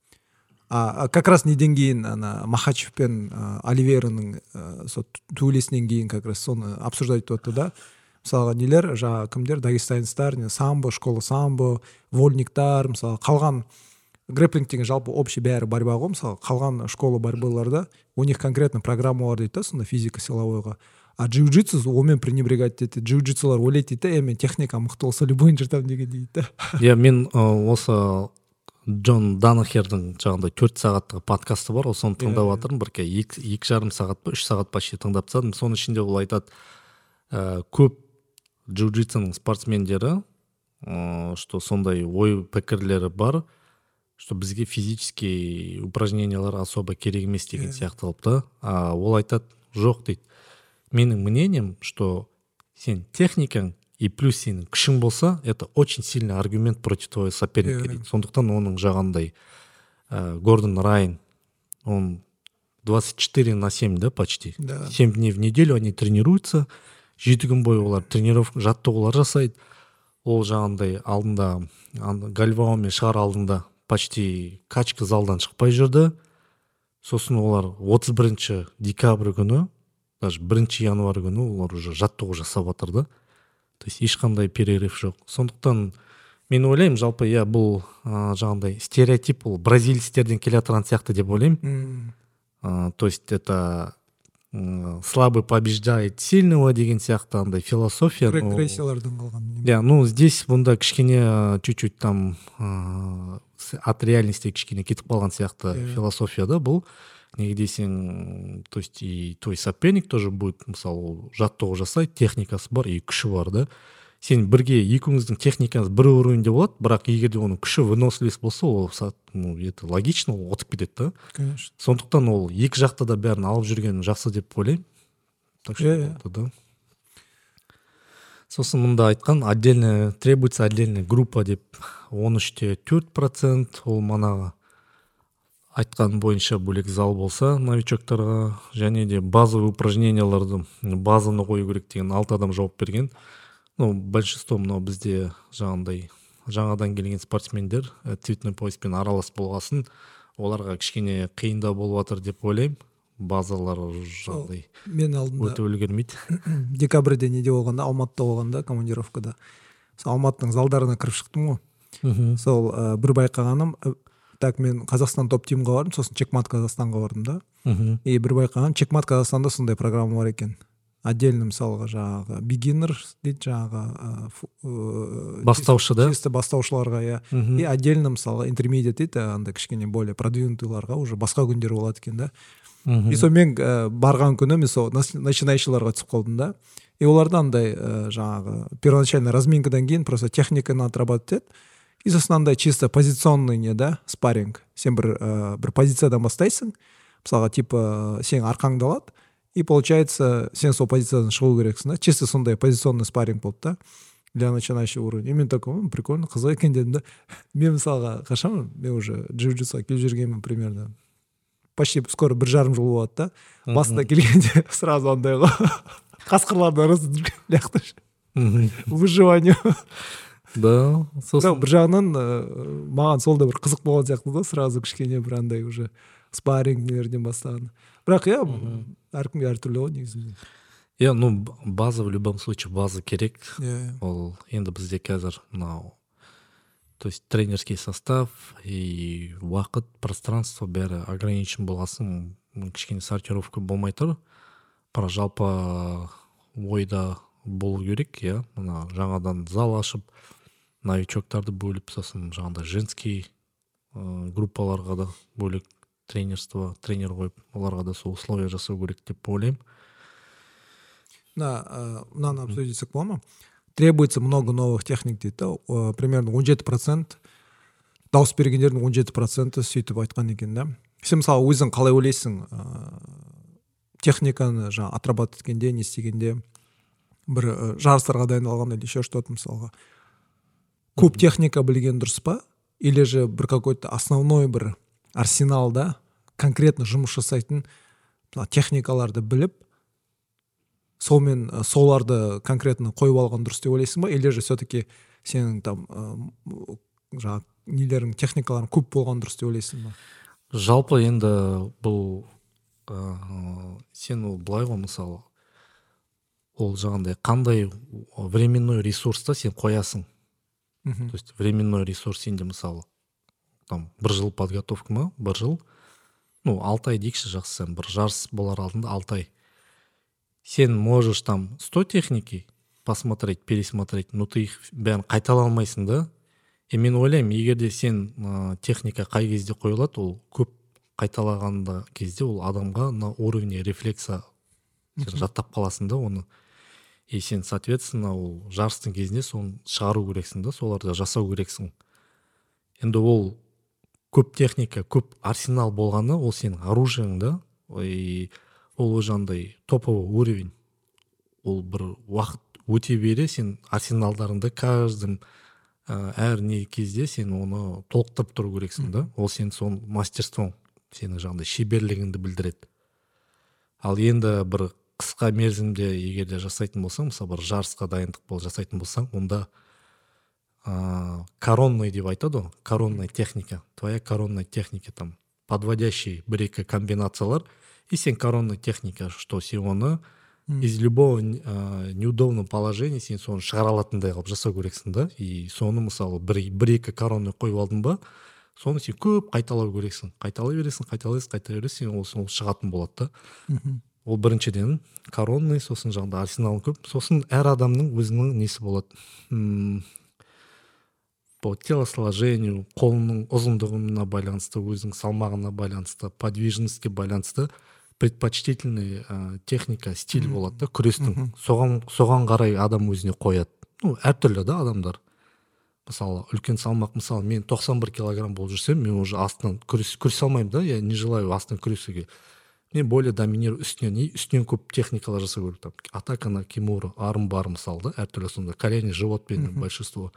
А как раз неден кейін ана Махачев пен Оливейраның сол төбелесінен кейін как раз соны обсуждать етіп отты да. Мысалға нелер, жаңағы кімдер, дагестанецтар, самбо, школа самбо, вольниктар, мысалы қалған грэпплинг деген жалпы общий бәрі борьба ғой, мысалы қалған школа борьбаларда у них конкретно программа бар дейді да, сонда физика силовойға. А джиу-джитсу онымен пренебрегать дейді. Джиу-джитсулар ойлайды дейді, е мен техника мықты болса любойын жыртамын деген дейді да. Иә, мен осы Джон Данахердің жаңағындай төрт сағаттығы подкасты бар, соны тыңдап жатырмын, бір екі, екі жарым сағат па, үш сағат почти тыңдап тастадым. Соның ішінде ол айтады, ә, көп джиу-джитсының спортсмендері, ә, что сондай ой пікірлері бар, что бізге физический упражнениялар особо керек емес деген сияқтылып та. А ол айтады, жоқ дейді. Менің мнением, что сен техникаң и плюс сенің күшің болса, это очень сильный аргумент против твоего соперника. Yeah. Сондықтан оның жағандай ә, Гордон Райн, он двадцать четыре на семь, да, почти. Да. семь дней в неделю они тренируются. жеті күн бойы олар тренировка, жаттығулар жасайды. Ол жаңағындай алдында гальваомен шығар алдында почти качка залдан шықпай жүрді. Сосын олар отыз бірінші декабрь күні, даже бірінші январь күні олар уже жаттығу жасап жатыр да. То есть ешқандай перерыв жоқ. Сондықтан мен ойлаймын, жалпы иә бұл ә, жаңағындай стереотип, ол бразильцтерден келе жатқан сияқты деп ойлаймын. ә, То есть это ә, слабый побеждает сильного деген сияқты андай философия. Регрессиялардан қалған. Да, ну здесь бұнда кішкене чуть-чуть там ә, от реальности кішкене кетіп қалған сияқты yeah. философия да бұл. Неге десең, то есть и твой соперник тоже будет, мысалы, жаттығу жасайды, техникасы бар и күші бар да. Сен бірге екеуіңіздің техникаңыз бір уровеньде болады, бірақ егер де оның күші выносливость болса, ол ну, это логично, ол отып кетеді да. Конечно. Сондықтан ол екі жақта да бәрін алып жүрген жақсы деп ойлаймын. Так что yeah. да. Сосын мұнда айтқан, отдельно требуется отдельная группа деп он үште төрт процент, ол манағы айтқан бойынша бөлек зал болса новичоктарға, және де базовый упражненияларды базаны қою керек деген алты адам жауап берген. Ну, большинство мынау бізде жаңағындай жаңадан келген спортсмендер цветной пояспен аралас болғасын, оларға кішкене қиында болып жатыр деп ойлаймын. Базалар жаңағындай мен алдында өте үлгермейді. Декабрьде неде болғанда, Алматыда болғанда, командировкада. Сол Алматының залдарына кіріп шықтым ғой. Сол ә, бір байқағаным, так мен Қазақстан топ тимға бардым, сосын Чекмат Қазақстанға бардым да. И бір байқағаным, Чекмат Қазақстанда сондай программа бар екен. Отдельно мысалға жаңағы beginner дейді, жаңағы бастаушы да. Чисто бастаушыларға, я. И отдельно мысалға intermediate дейді, андай кішкене более продвинутыйларға уже басқа күндер болады екен да. И сол мен барған күні мен сол начинающийларға түсіп қалдым да. И оларда андай жаңағы первоначально разминкадан кейін просто техниканы отрабатывать етеді. И сосын андай чисто позиционный не да, спарринг. Сен бір бір позициядан бастайсың. Мысалға типа сен арқаңды алады. И получается, сен сол позициядан шығу керексің да. Чисто сондай позиционный спарринг болды да. Для начинающего уровня. И мен такой, прикольно, қызық екен дедім да. Мен мысалға қашан, мен уже джиу-джитсуға келіп жүргенмін примерно. Почти скоро бір жарым жыл болады да. Басында келгенде сразу андай ғой. Қасқырлардың арасында жүрген ляқтыш. Выживание. Да, сосын бір жағынан маған сол да бір қызық болған сияқты да, сразу кішкене бір андай уже спаррингілерден бастаған. Бірақ иә, әркімге әртүрлі ғой негізінде. Иә, ну база в любом случае база керек. Yeah. Ол енді бізде қазір мынау, то есть тренерский состав и уақыт, пространство бәрі ограничен болғасын, кішкене сортировка болмай тұр. Бірақ жалпы ойда болу керек, иә. Мына жаңадан зал ашып, новичоктарды бөліп, сосын жаңағыдай женский ә, группаларға да бөлек тренерство, тренер қойып, оларға да сол условия жасау керек деп ойлаймын. Да, мынаны обсудить етсек бола ма? Требуется много новых техник дейді. Примерно он жеті процент дауыс бергендердің он жеті проценті сөйтіп айтқан екен да. Сен мысалы өзің қалай ойлайсың, техниканы жаңа отрабатывать еткенде, не істегенде, бір жарыстарға дайындалғанда или еще что-то мысалға көп техника білген дұрыс па? Или же бір какой-то основной бір арсеналда конкретно жұмыс жасайтын техникаларды біліп, солмен соларды конкретно қойып алған дұрыс деп ойлайсың ба? Или же все-таки сенің там жаңағы нелерің, техникаларың көп болған дұрыс деп ойлайсың ба? Жалпы енді бұл ә, сен ол былай ғой, мысалы ол жаңағындай қандай временной ресурста сен қоясың. То есть временной ресурс сенде мысалы там бір жыл подготовка ма, бір жыл, ну алты ай дейікші, жақсы, сен бір жарыс болар алдында алты ай. Сен можешь там сто техники посмотреть, пересмотреть, но ты их бәрін қайтала алмайсың да. И мен ойлаймын, егер де сен ә, техника қай кезде қойылады, ол көп қайталағанда кезде ол адамға на уровне рефлекса жаттап қаласың да оны. И сен, соответственно, ол жарыстың кезінде соны шығару керексің да, соларды жасау керексің. Енді ол көп техника, көп арсенал болғаны, ол сенің оружиең да. И ол жаңағындай топовый уровень. Ол бір уақыт өте бере сен арсеналдарыңды каждым ә, әр не кезде сен оны толықтырып тұру керексің да. Ол сен соның мастерствоң, сенің жаңағындай шеберлігіңді білдіреді. ал енді бір қысқа мерзімде егер де жасайтын болсаң, мысалы бір жарысқа дайындық бол жасайтын болсаң, онда ә, коронный деп айтады ғой, коронная техника, твоя коронная техника, там подводящий бір-екі комбинациялар, и сен коронная техника, что сен оны из любого ә, неудобного положения сен соны шығара алатындай қылып жасау керексің да, и соны мысалы бір-екі коронный қойып алдың ба, соны сен көп қайталау керексің, қайталай бересің, қайталайсың, қайталай бересің, сен ол, ол шығатын болады да. Ол біріншіден коронный, сосын жаңағыда арсенал көп, сосын әр адамның өзінің несі болады. М- по телосложению, қолының ұзындығына байланысты, өзінің салмағына байланысты, подвижностьке байланысты предпочтительный ә, техника, стиль болады да, күрестің. Соған, соған қарай адам өзіне қояды. Ну, әртүрлі да адамдар. Мысалы, үлкен салмақ, мысалы, мен тоқсан бір килограмм болып жүрсем, мен уже астынан күрес, күресе алмаймын да, я не желаю астынан күресуге. Мен более доминирую үстінен, и үстінен көп техникалар жасау керек. Там, атака на кимура, арм бар, мысалы, да, әртүрлі сонда, колени, живот бедный, большинство.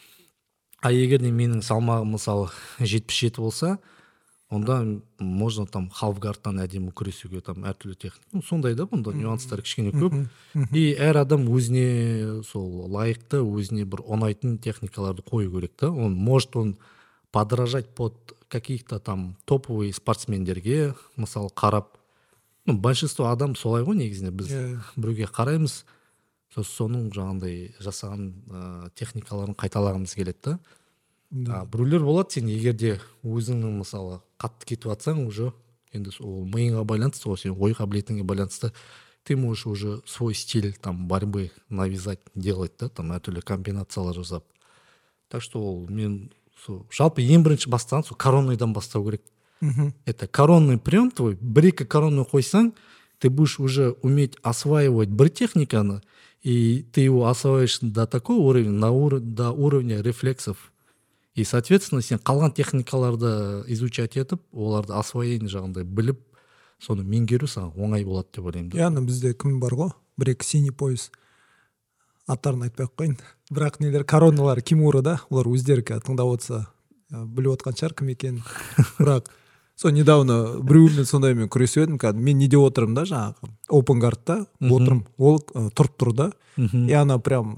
А егер де менің салмағым, мысалы, жетпіс жеті болса, онда можно там халфгарттан әдемі күресуге, там әртүрлі техника. Ну, сондай да, бұнда нюанстар кішкене көп. И әр адам өзіне сол лайықты, өзіне бір ұнайтын техникаларды қою керек та. Он может он подражать под каких-то там топовые спортсмендерге, мысалы, қарап. Ну, большинство адам солай ғой негізінде, біз yeah. біреуге қараймыз, соның жаңағындай жасаған ә, техникаларын қайталағымыз келеді да. Yeah. Біреулер болады, сен егер де өзіңнің мысалы қатты кетіп жатсаң, уже енді ол миыңа байланысты, ол сен ой қабілетіңе байланысты, ты можешь уже свой стиль там борьбы навязать, делать да, там әртүрлі комбинациялар жасап. Так что ол мен сол жалпы ең бірінші бастаған сол коронныйдан бастау керек. Mm-hmm. Это коронный прием твой, бір-екі коронный қойсаң, ты будешь уже уметь осваивать бір техниканы, и ты его осваиваешь до такого уровня, на ур... до уровня рефлексов. И, соответственно, сен қалған техникаларды изучать етіп, оларды освоение жағындай біліп, соны меңгеру саған оңай болады деп ойлаймын. Яғни бізде кім бар ғой? Бір-екі синий пояс. Аттарын айтпай ақ қойын. Бірақ нелер короналар кимура да, олар өздері тыңдап отырса біліп отқан шығар кім екенін. Бірақ сол недавно біреумен сондаймен күресіп едім, мен неде отырмын да, жаңағы open guardта отырмын, ол тұрып тұр да, и ана прям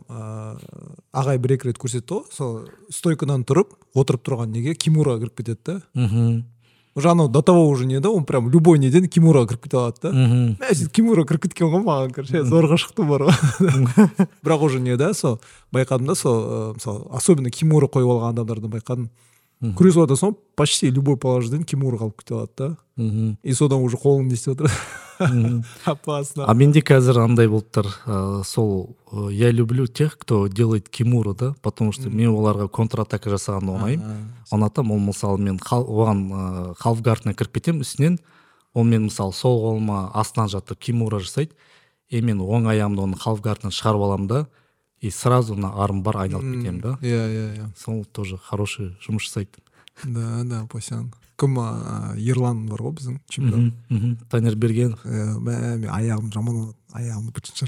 ағай бір-екі рет көрсетті ғой, сол стойкадан тұрып отырып тұрған неге кимураға кіріп кетеді да. Уже анау до того уже не да, он прям любой неден кимураға кіріп кете алады да. Мәсет кимура кіріп кеткен ғой маған, короче, зорға шықты бар ғой. Бірақ уже не да, сол байқадым да, сол мысалы особенно кимура қойып алған адамдарды байқадым. Күресіп отырса соң почти любой положениеден кимура қалып кете алады да. И содан уже қолың не істеп отыр. Опасно. А менде қазір андай болып тұр, сол я люблю тех, кто делает кимуру, да, потому что мен оларға контратака жасағанды оңайым. Ұнатамын, ол мысалы мен оған халфгардына кіріп кетемін үстінен, ол мен мысалы сол қолыма астынан жатып кимура жасайды, и мен оң аяғымды оның халфгардынан шығарып аламын да, и сразу на арм бар айналып кетемін да. Иә, иә, иә. Сол тоже хороший жұмыс жасайды. Да, да, пасян. Кім Ерлан бар ғой біздің чемпион. Танер Бергенов. Мен аяғым жаман болады, аяғымды бітін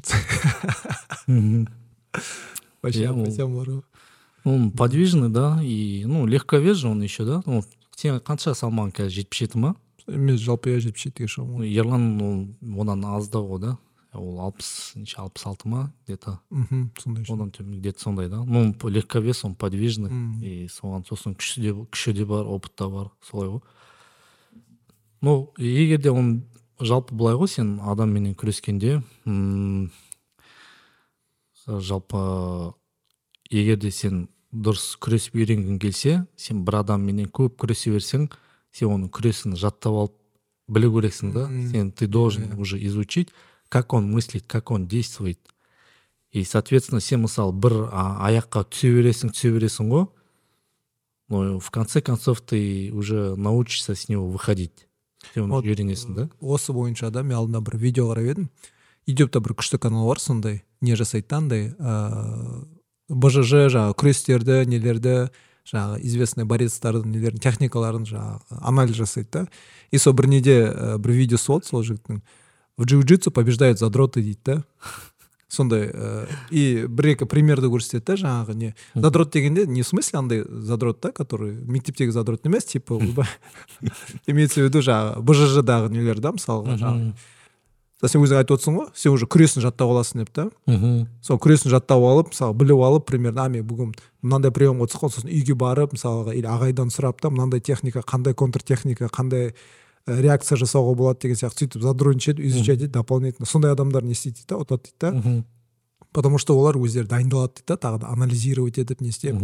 шартсы. Пасян, пасян бар ғой. Он подвижный, да, и ну легковес же он еще, да. Ну, сен қанша салмағың қазір, жетпіс жеті ма? Мен жалпы я жетпіс жетіге шығамын. Ерлан одан аздау ғой да. Ол алпыс, алпыс алты ма, где-то. Сондай. Одан төмен, где-то сондай, да. Ну, легковес, он подвижный, и соған сосын күші де, күші де бар, опыт та бар, солай ғой. Ну, егер де он жалпы былай ғой, сен адамменен күрескенде, жалпы егер де сен дұрыс күресіп үйренгің келсе, сен бір адамменен көп күресе берсең, сен оның күресін жаттап алып білу керексің да. Сен ты должен уже изучить, как он мыслит, как он действует. И, соответственно, сен мысалы бір аяққа түсе бересің, түсе бересің ғой, но в конце концов ты уже научишься с него выходить. Сен оны үйренесің да. Осы бойынша да мен алдында бір видео қарап едім. Ютубта бір күшті канал бар сондай, не жасайды андай бэ жэ жэ жаңағы күрестерді, нелерді, жаңағы известный борецтардың нелердің техникаларын жаңағы анализ жасайды да. И сол бір неде бір видеосы болды сол жігіттің. В джиу-джитсу побеждают задроты дейді да. Сондай и бір-екі примерді көрсетеді да, жаңағы не задрот дегенде не в смысле андай задрот да, который мектептегі задрот емес, типа имеется в виду жаңағы бэ жэ жэ-дағы нелер да, мысалға жаңағы сен өзің айтып отырсың ғой, сен уже күресін жаттап аласың деп та. Сол күресін жаттап алып, мысалы біліп алып, примерно, а мен бүгін мынандай приемға түскен, сосын үйге барып, мысалға, или ағайдан сұрап та, мынандай техника, қандай контртехника, қандай реакция жасауға болады деген сияқты сөйтіп задротничать, изучать дейді дополнительно. Сондай адамдар не істейді дейді, ұтады дейді да. Потому что олар өздері дайындалады дейді да, тағы да анализировать етіп не істеп.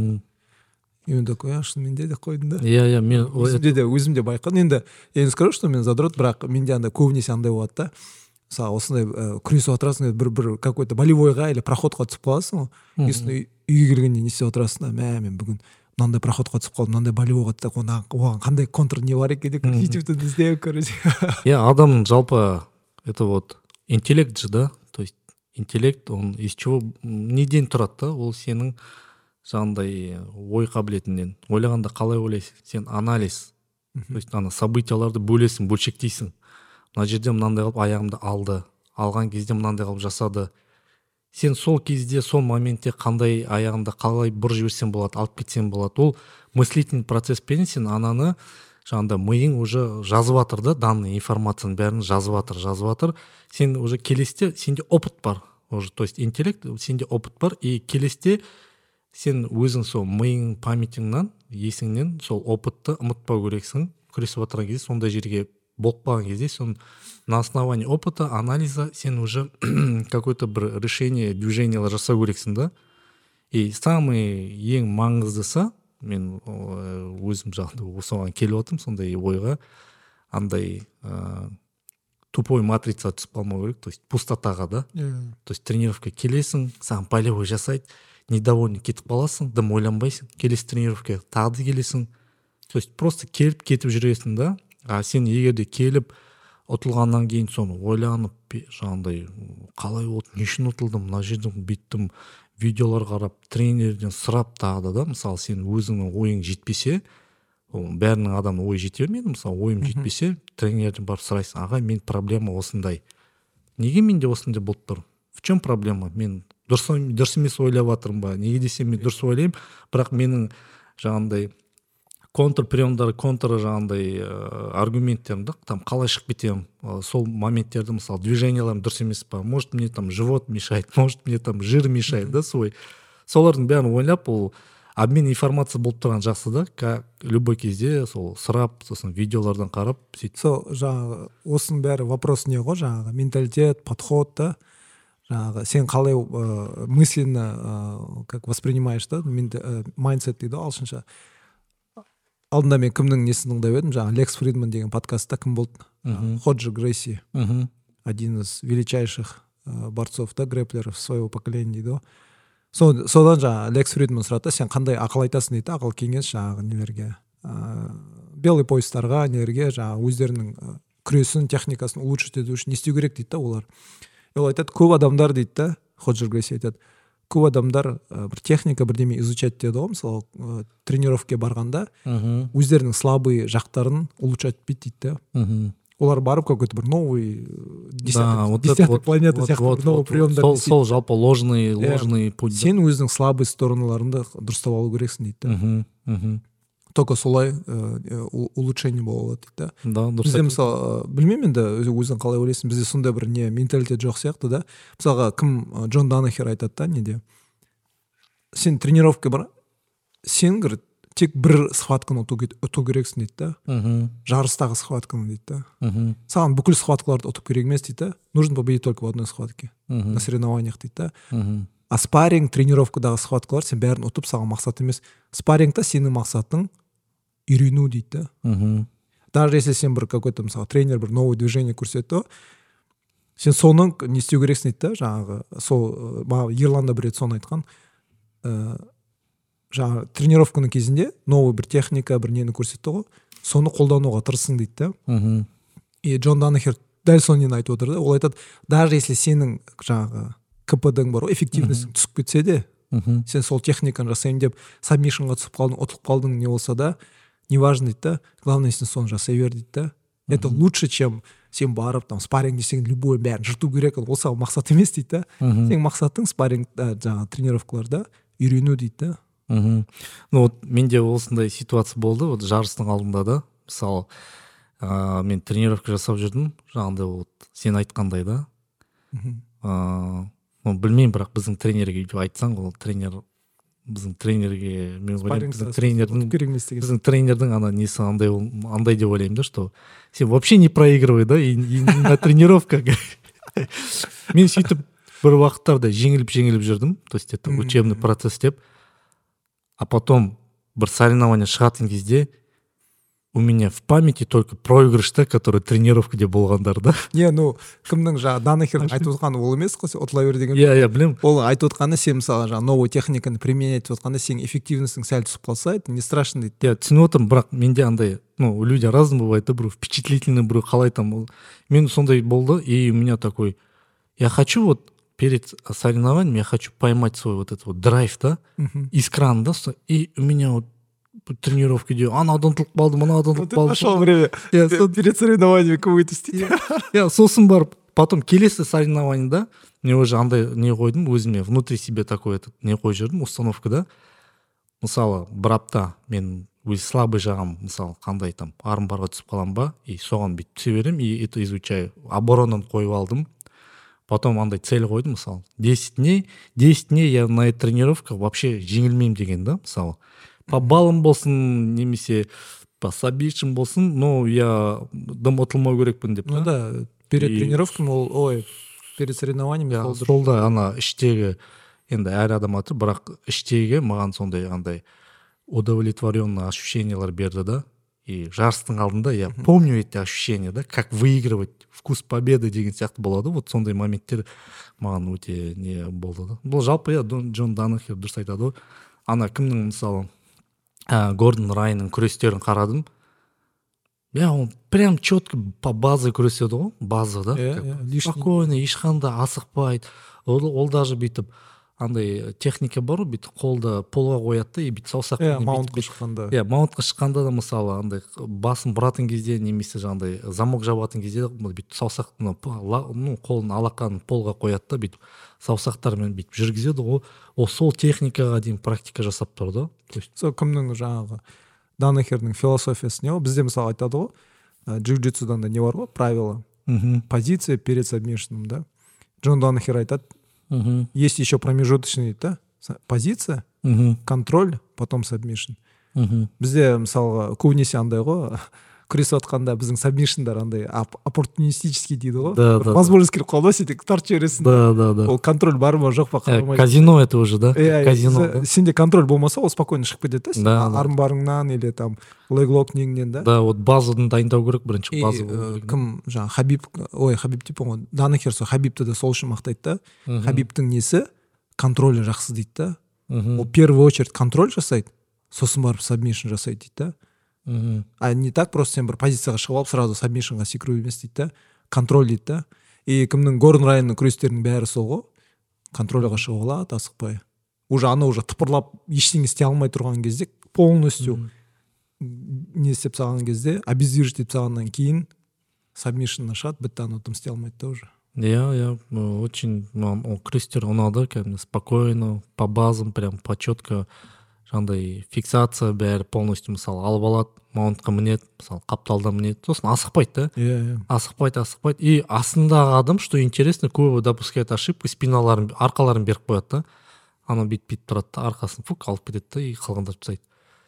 И он такой, а шынымен де қойдым да. Иә, иә, мен өзімде де өзімде байқадым. Енді енді скажу, что мен задрот, бірақ менде андай көбінесе андай болады да. Мысалы осындай күресіп отырасың, бір бір какой-то болевойға или проходқа түсіп қаласың ғой. Сосын үйге келгенде не істеп отырасың да, мә мен бүгін мынандай проходқа түсіп қалдым, мынандай болевойға түсіп оған қандай контр не бар екен деп ютубтан іздеп короче. Иә, адамның жалпы это вот интеллект же, да, то есть интеллект, он из чего неден тұрады да, ол сенің жаңағындай ой қабілетіңнен. Ойлағанда қалай ойлайсың? Сен анализ, то есть ана событияларды бөлесің, бөлшектейсің. Мына жерде мынандай қылып аяғымды алды, алған кезде мынандай қылып жасады. Сен сол кезде, сол моментте қандай аяғымды қалай бұр жіберсем болады, алып кетсем болады. Ол мыслительный процесспен сен ананы жаңағында миың уже жазып жатыр да, данный информацияның бәрін жазып жатыр, жазып жатыр. Сен уже келесте, сенде опыт бар. Уже, то есть интеллект, сенде опыт бар, и келесте сен өзің сол миың памятіңнен, есіңнен сол опытты ұмытпау керексің. Күресіп отырған кезде, сондай жерге болып қалған кезде, сон на основании опыта, анализа сен уже какое-то бір решение, движениялар жасау керексің да. И самый ең маңыздысы, мен өзім жағында осыған келіп отырмын, сондай ойға, андай ә, тупой матрица түсіп қалмау керек, то есть пустотаға да. Yeah. То есть тренировка келесің, саған болевой жасайды, недовольный кетіп қаласың, дым ойланбайсың, келесі тренировка тағы да келесің. То есть просто келіп кетіп жүресің да. А сен егерде келіп ұтылғаннан кейін соны ойланып, жаңағындай қалай болды, не үшін ұтылдым, мына жерден бүйттім, видеолар қарап, тренерден сұрап тағы да, мысалы сен өзіңнің ойың жетпесе, бәрінің адамның ойы жете бермейді, мысалы ойым жетпесе, тренерден барып сұрайсың, аға, мен проблема осындай. Неге менде осындай болып тұр? В чем проблема? Мен дұрыс, дұрыс емес ойлап жатырмын ба? Неге десем мен дұрыс ойлаймын, бірақ менің жаңағындай контр приемдар, контр жаңағындай аргументтерімді там қалай шығып кетемін, сол моменттерді, мысалы движенияларым дұрыс емес па, может мне там живот мешает, может мне там жир мешает, да, свой. Солардың бәрін ойлап, ол обмен информация болып тұрған жақсы да, как любой кезде сол сұрап, сосын видеолардан қарап сөйтіп. Сол жаңағы осының бәрі вопрос не ғой, жаңағы менталитет, подход да, жаңағы сен қалай ә, мысленно ә, как воспринимаешь да, майндсет дейді ағылшынша. Алдында мен кімнің несін тыңдап едім, жаңағы Лекс Фридман деген подкастта кім болды? Ходжи Грейси, один из величайших борцов да, грэплеров своего поколения дейді. Содан жаңағы Лекс Фридман сұрады, сен қандай ақыл айтасың дейді, ақыл кеңес жаңағы нелерге, белый поястарға, нелерге, жаңағы өздерінің күресін, техникасын улучшить ету үшін не істеу керек дейді да олар. Ол айтады, көп адамдар дейді да, Ходжи Грейси айтады, көп адамдар бір техника бірдеме изучать деді ғой, мысалы тренировке барғанда өздерінің слабый жақтарын улучшать етпейді дейді да. Олар барып какой-то бір новый десятый планета сияқты новый приемдар. Сол жалпы ложный ложный путь. Сен өзінің слабый сторонларыңды дұрыстап алу керексің дейді да. Только солай улучшение болады дейді да. Бізде мысалы, білмеймін енді өзің қалай ойлайсың, бізде сондай бір не менталитет жоқ сияқты да. Мысалға кім Джон Данахер айтады да, неде сен тренировка бар, сен тек бір схватканы ұту керексің дейді да. Жарыстағы схватканы дейді да. Саған бүкіл схваткаларды ұтып керек емес дейді да. Нужно победить только в одной схватке на соревнованиях дейді да. А спарринг, тренировкадағы схваткалар сен бәрін ұтып, саған мақсат емес. Спаррингта сенің мақсатың үйрену дейді да. Даже если сен бір какой-то, мысалы, тренер бір новый движение көрсетті, сен соның не істеу керексің дейді да, жаңағы, сол, Ерланда бір рет соны айтқан, жаңағы тренировканың кезінде новый бір техника, бір нені көрсетті ғой, соны қолдануға тырысың дейді да. И Джон Данахер дәл соны айтып отыр да, ол айтады, даже если сенің жаңағы КПДң бар, эффективностің түсіп кетсе де, сен сол техниканы жасайын деп сабмишнға түсіп қалдың, ұтылып қалдың не болса да, неважно дейді да, главное сен соны жасай бер дейді да. Это лучше, чем сен барып там спарринг десең любой бәрін жырту керек, ол саған мақсат емес дейді да. Сенің мақсатың спаррингда жаңағы тренировкаларда үйрену дейді да. Ну вот менде осындай ситуация болды, вот жарыстың алдында да, мысалы ә, мен тренировка жасап жүрдім жаңағыдай вот сен айтқандай да. ә, ну, білмеймін, бірақ біздің тренерге өйтіп айтсаң, ол тренер біздің тренерге мен ойлаймын біздің тренердің біздің тренердің ана несі андай андай деп ойлаймын да, что сен вообще не проигрывай да, и, и на тренировках. Мен сөйтіп бір уақыттарда жеңіліп жеңіліп жүрдім, то есть это учебный процесс деп, а потом бір соревнование шығатын кезде у меня в памяти только проигрышта, который тренировкада болғандар да. Не, ну кімнің жаңағы Данахердің айтып отқаны ол емес қой, ұтылай бер деген. Иә, иә, білемін. Ол айтып отқаны сен мысалы жаңағы новый техниканы применять етіп отқанда сен эффективностің сәл түсіп қалса, это не страшно дейді. Иә, түсініп отырмын, бірақ менде андай, ну, люди разные бывают, да, біреу впечатлительный, біреу қалай там. Мен сондай болды, и у меня такой, я хочу вот перед соревнованием, я хочу поймать свой вот этот вот драйв, да, из крана, да, и у меня вот тренировкаде анадан ұтылып қалдым, мынадан ұтылып қалдым. Нашел время перед соревнованиями кого-то істейді. Иә, сосын барып, потом келесі соревнованияда мен уже андай не қойдым, өзіме внутри себе такой этот не қойып жүрдім, установкада. Мысалы, бір апта мен өз слабый жағым, мысалы, қандай там армбарға түсіп қалам ба, и соған бүйтіп түсе берем, и это изучаю. Оборонын қойып алдым. Потом андай цель қойдым, мысалы, десять дней, десять дней я на этой тренировке вообще жеңілмеймін деген да, мысалы. По баллам болсын, немесе по сабишім болсын, но я дым ұтылмау керекпін деп. Ну да, перед тренировками, ой, перед соревнованиями. Сол да, ана іштегі, енді әр адам атыр, бірақ іштегі маған сондай андай удовлетворенный ощущениялар берді да. И жарыстың алдында я помню эти ощущения, да, как выигрывать, вкус победы деген сияқты болады. Вот сондай моменттер маған өте не болды да. Бұл жалпы я Джон Данахер дұрыс айтады ғой. Ана кімнің мысалы ә, Гордон Райнның күрестерін қарадым. Я он прям четко по базе күреседі ғой, база да. Yeah, yeah, спокойно, ешқандай асықпайды. Ол, ол даже бүйтіп андай техника бар ғой, бүйтіп қолда полға қояды и бүйтіп саусақ. Иә, маунтқа шыққанда. Иә, маунтқа шыққанда да мысалы андай басын бұратын кезде, немесе жаңағыдай замок жабатын кезде бүйтіп саусақтың ну қолын алақанын полға қояды да, бүйтіп саусақтармен бүйтіп жүргізеді ғой. Ол сол техникаға дейін практика жасап тұр да. Сол кімнің жаңағы Данахердің философиясы не ғой? Бізде мысалы айтады ғой, джиу-джитсудан да не бар ғой, правило. Позиция перед сабмишном, да. Джон Данахер айтады, есть еще промежуточный, да, позиция, контроль, потом сабмишн. Бізде мысалы көбінесе андай ғой, күресіп отқанда біздің сабмишндар андай оппортунистический дейді ғой. Да, да. Возможность келіп қалды, сен тартып жібересің. Да, да, да. Ол контроль бар ма, жоқ па, қарамайды. Казино это уже, да? Казино. Сенде контроль болмаса, ол спокойно шығып кетеді, да? Армбарыңнан или там леглок неңнен, да? Да, вот базадан дайындау керек, бірінші база. Кім жаңа Хабиб, ой, Хабиб типа ғой, Данахер сол Хабибті де сол үшін мақтайды да. Хабибтің несі контролі жақсы дейді да. Ол первую очередь контроль жасайды, сосын барып сабмишн жасайды дейді да. А не так просто сен бір позицияға шығып алып сразу сабмишнға секіру емес дейді да. Контроль дейді да. И кімнің Гордон Райнның күрестерінің бәрі сол ғой. Контрольға шығып алады, асықпай. Уже ана уже тыпырлап ештеңе істей алмай тұрған кезде полностью не істеп салған кезде, обездвижить етіп салғаннан кейін сабмишн ашады, бітті, ана істей алмайды да уже. Я, я очень, ол күрестер ұнады, кәдімгі спокойно, по базам, прям по четко, жаңағыдай фиксация бәрі полностью мысалы алып алады, маунтқа мінеді, мысалы қапталда мінеді, сосын асықпайды да. Иә, иә. Асықпайды, асықпайды. И астындағы адам, что интересно, көбі допускает ошибку, спиналарын, арқаларын беріп қояды да. Ана бүйтіп тұрады да, арқасын фук алып кетеді да, и қалғандар жасайды.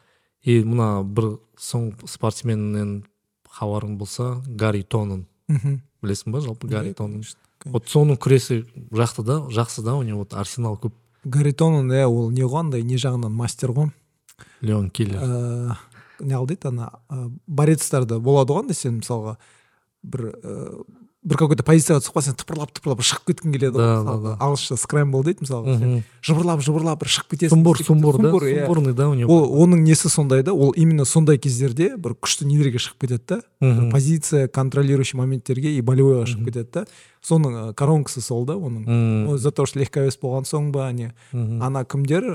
И мына бір соң спортсменнен хабарың болса, Гарри Тонн. Білесің ба, жалпы Гарри Тонн? Вот соның күресі жақсы да, жақсы да, у него вот арсенал көп. Гарри Тонн, иә, ол не қандай, не жағынан мастер ғой. Леон Киллер. Не алдайды, ана борецтарда болады ғой, сен мысалға бір бір какой-то позицияға түсіп қалсаң, тыпырлап тыпырлап шығып кеткің келеді ғой. Ағылшынша скрэмбл дейді мысалға. Жыбырлап жыбырлап бір шығып кетесің. Сумбур, сумбур, да, сумбурный, да, у него. Ол оның несі сондай да, ол именно сондай кездерде бір күшті нелерге шығып кетеді да. Позиция контролирующий моменттерге и болевойға шығып кетеді да. Соның коронкасы сол да, оның. За то, что легковес болған соң ба, не. Ана кімдер,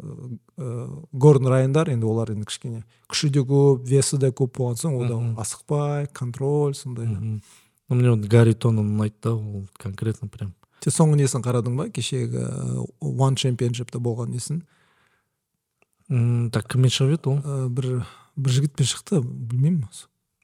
Гордон Райндар, енді олар енді кішкене күші де көп, весі де көп болған соң, ода асықпай, контроль, сондай. Ну, мне вот Гарри Тонн ұнайды да, ол конкретно прям. Сен соңғы несін қарадың ба, кешегі One Championship'та болған несін? Так, кіммен шығып еді ол? Бір жігітпен шықты, білмеймін.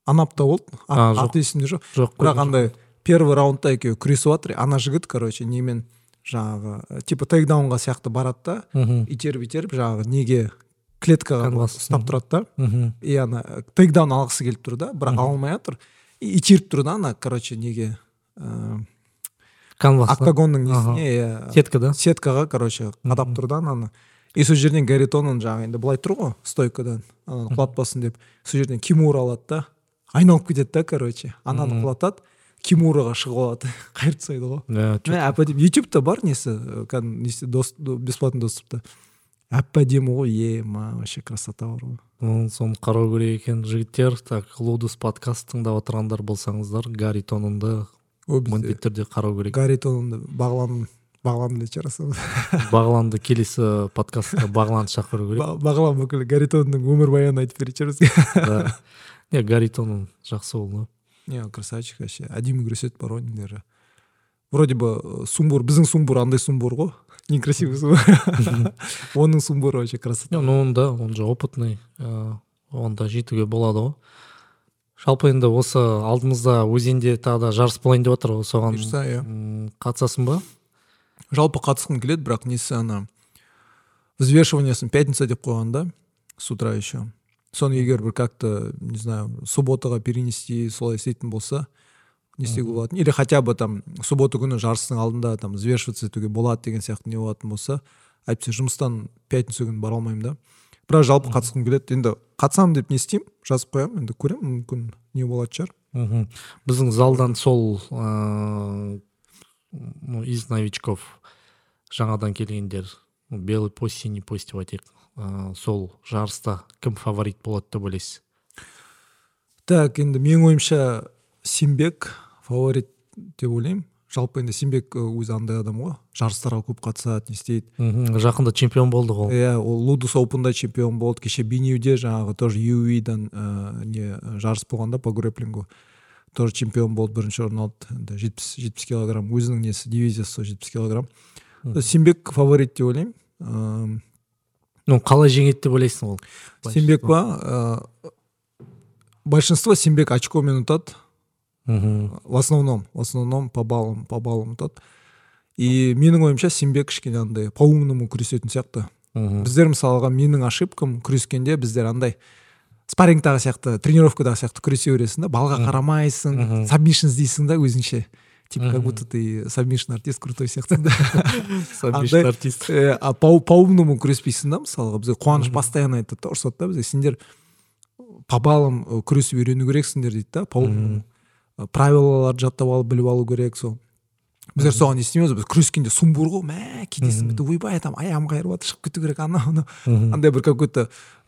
Анапта болды. А, ат жоқ. аты есімде жоқ. Жоқ, бірақ көрдім, андай первый раундта екеуі күресіп жатыр. Ана жігіт, короче, немен жаңағы типа тейкдаунға сияқты барады да, Мгм. итеріп итеріп жаңағы неге клеткаға Канвас. ұстап тұрады да. Мгм. И ана тейкдаун алғысы келіп тұр да, бірақ ала алмай жатыр. И итеріп тұр да ана, короче, неге ә, Канвас. октагонның Ага. несіне иә, Сетка, да? сеткаға, короче, қадап тұр да ананы. И сол жерден Гарри Тонн жаңағы енді былай тұр ғой стойкадан, ананы құлатпасын деп, сол жерден Кимура алады да, айналып кетеді да, короче, ананы құлатады, Кимураға шығып алады, қайырып тастайды ғой. Иә, чё- Мә, әп-әдемі. ютубта бар несі, кәдімгі несі, дос- бесплатный доступта. Әп-әдемі ғой, ема, вообще красота бар ғой. Ну, соны қарау керек екен жігіттер. Так, Лудус подкаст тыңдап отырғандар болсаңыздар, Гарри Тоннды О, бізде міндетті түрде қарау керек. Гарри Тоннды бағлан бағлан жарасады. Бағланды келесі подкастқа Бағланды шақыру керек. Ба- бағлан бүкіл Гарри Тоннның өмірбаянын айтып беретін бізге. Да. Не, Гарри Тонн жақсы болды. Не, красавчик вообще. Әдемі күреседі бар ғой нелері. Вроде бы э, сумбур, біздің сумбур андай сумбур ғой. Некрасивый сумбур. Оның сумбуры вообще красота. Ну, он да, он же опытный. Э, Он да жетуге болады ғой. Жалпы енді осы алдымызда өзенде тағы да жарыс болайын деп отыр ғой, соған Бұйырса, иә. м, қатысасың ба? Жалпы қатысқым келеді, бірақ несі ана взвешиваниясын пятница деп қойған да, с утра еще. Соны егер бір как-то, не знаю, субботаға перенести, солай істейтін болса, не істеуге болатын. Или хотя бы там суббота күні жарыстың алдында там взвешиваться етуге болады деген сияқты не болатын болса, әйтпесе жұмыстан пятница күні бара алмаймын да. Бірақ жалпы қатысқым келеді. Енді қатысамын деп не істеймін, жазып қоямын, енді көремін, мүмкін не болады шығар. Мгм. Біздің залдан сол э, ну, из новичков жаңадан келгендер, ну, белый пост, синий пост деп айтайық, э, сол жарыста кім фаворит болады деп ойлайсыз? Так, енді менің ойымша Симбек фаворит деп ойлаймын. Жалпы енді Симбек өзі андай адам ғой, жарыстарға көп қатысады, не істейді. Мгм. Жақында чемпион болды ғой. Иә, ол Лудус Опенда чемпион болды. Кеше Бинюде жаңағы тоже ю ю и-дан ә, не жарыс болғанда по грэпплингу тоже чемпион болды, бірінші орын алды. Енді жетпіс жетпіс килограмм өзінің несі дивизиясы жетпіс килограмм. Симбек фаворит деп ойлаймын. Ә, Ну, қалай жеңеді деп ойлайсың ол? Симбек па, ә, большинство Симбек очкомен ұтады. Мгм. В основном, в основном по баллам, по баллам ұтады. И менің ойымша Симбек кішкене андай по умному күресетін сияқты. Мгм. Біздер мысалға менің ошибкам күрескенде біздер андай спаррингтағы сияқты, тренировкадағы сияқты күресе бересің да, балға қарамайсың, сабмишн іздейсің да өзіңше. Типа, как будто ты сабмишн артист крутой сияқты да. Сабмишн Андай, артист. э, А по по умному күреспейсің да, мысалға бізге Қуаныш постоянно айтады да, ұрсады да бізге, сендер по баллам э, күресіп үйрену керексіңдер дейді да, по умному. Правилаларды жаттап алып біліп алу керек сол. Біздер соған естиміз, біз күрескенде сумбур ғой, мә кетесің, бітті ойбай там аяғым қайырып жатыр, шығып кету керек, ана ана андай бір какой-то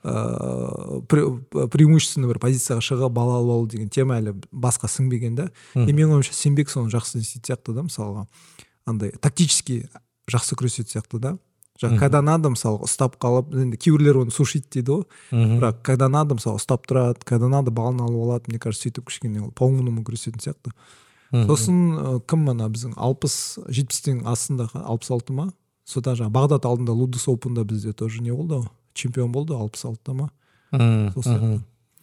ыыы, пре- преимущественно бір позицияға шығып бала алып алу деген тема әлі басқа сіңбеген да. И менің ойымша Симбек соны жақсы істейтін сияқты да, мысалға андай тактически жақсы күресетін сияқты да. Жаңа когда надо мысалға ұстап қалып, енді кейбіреулер оны сушить дейді ғой, бірақ когда надо мысалы ұстап тұрады, когда надо балын алып алады, мне кажется, сөйтіп кішкене ол по умному күресетін сияқты. Сосын ә, кім ана біздің алпыс жетпістің астында алпыс алты ма? Сода жаңа Бағдат алдында Лудус Опенда бізде тоже не болды ғой, чемпион болды алпыс алтыда ма? Мгм. Сол сияқты.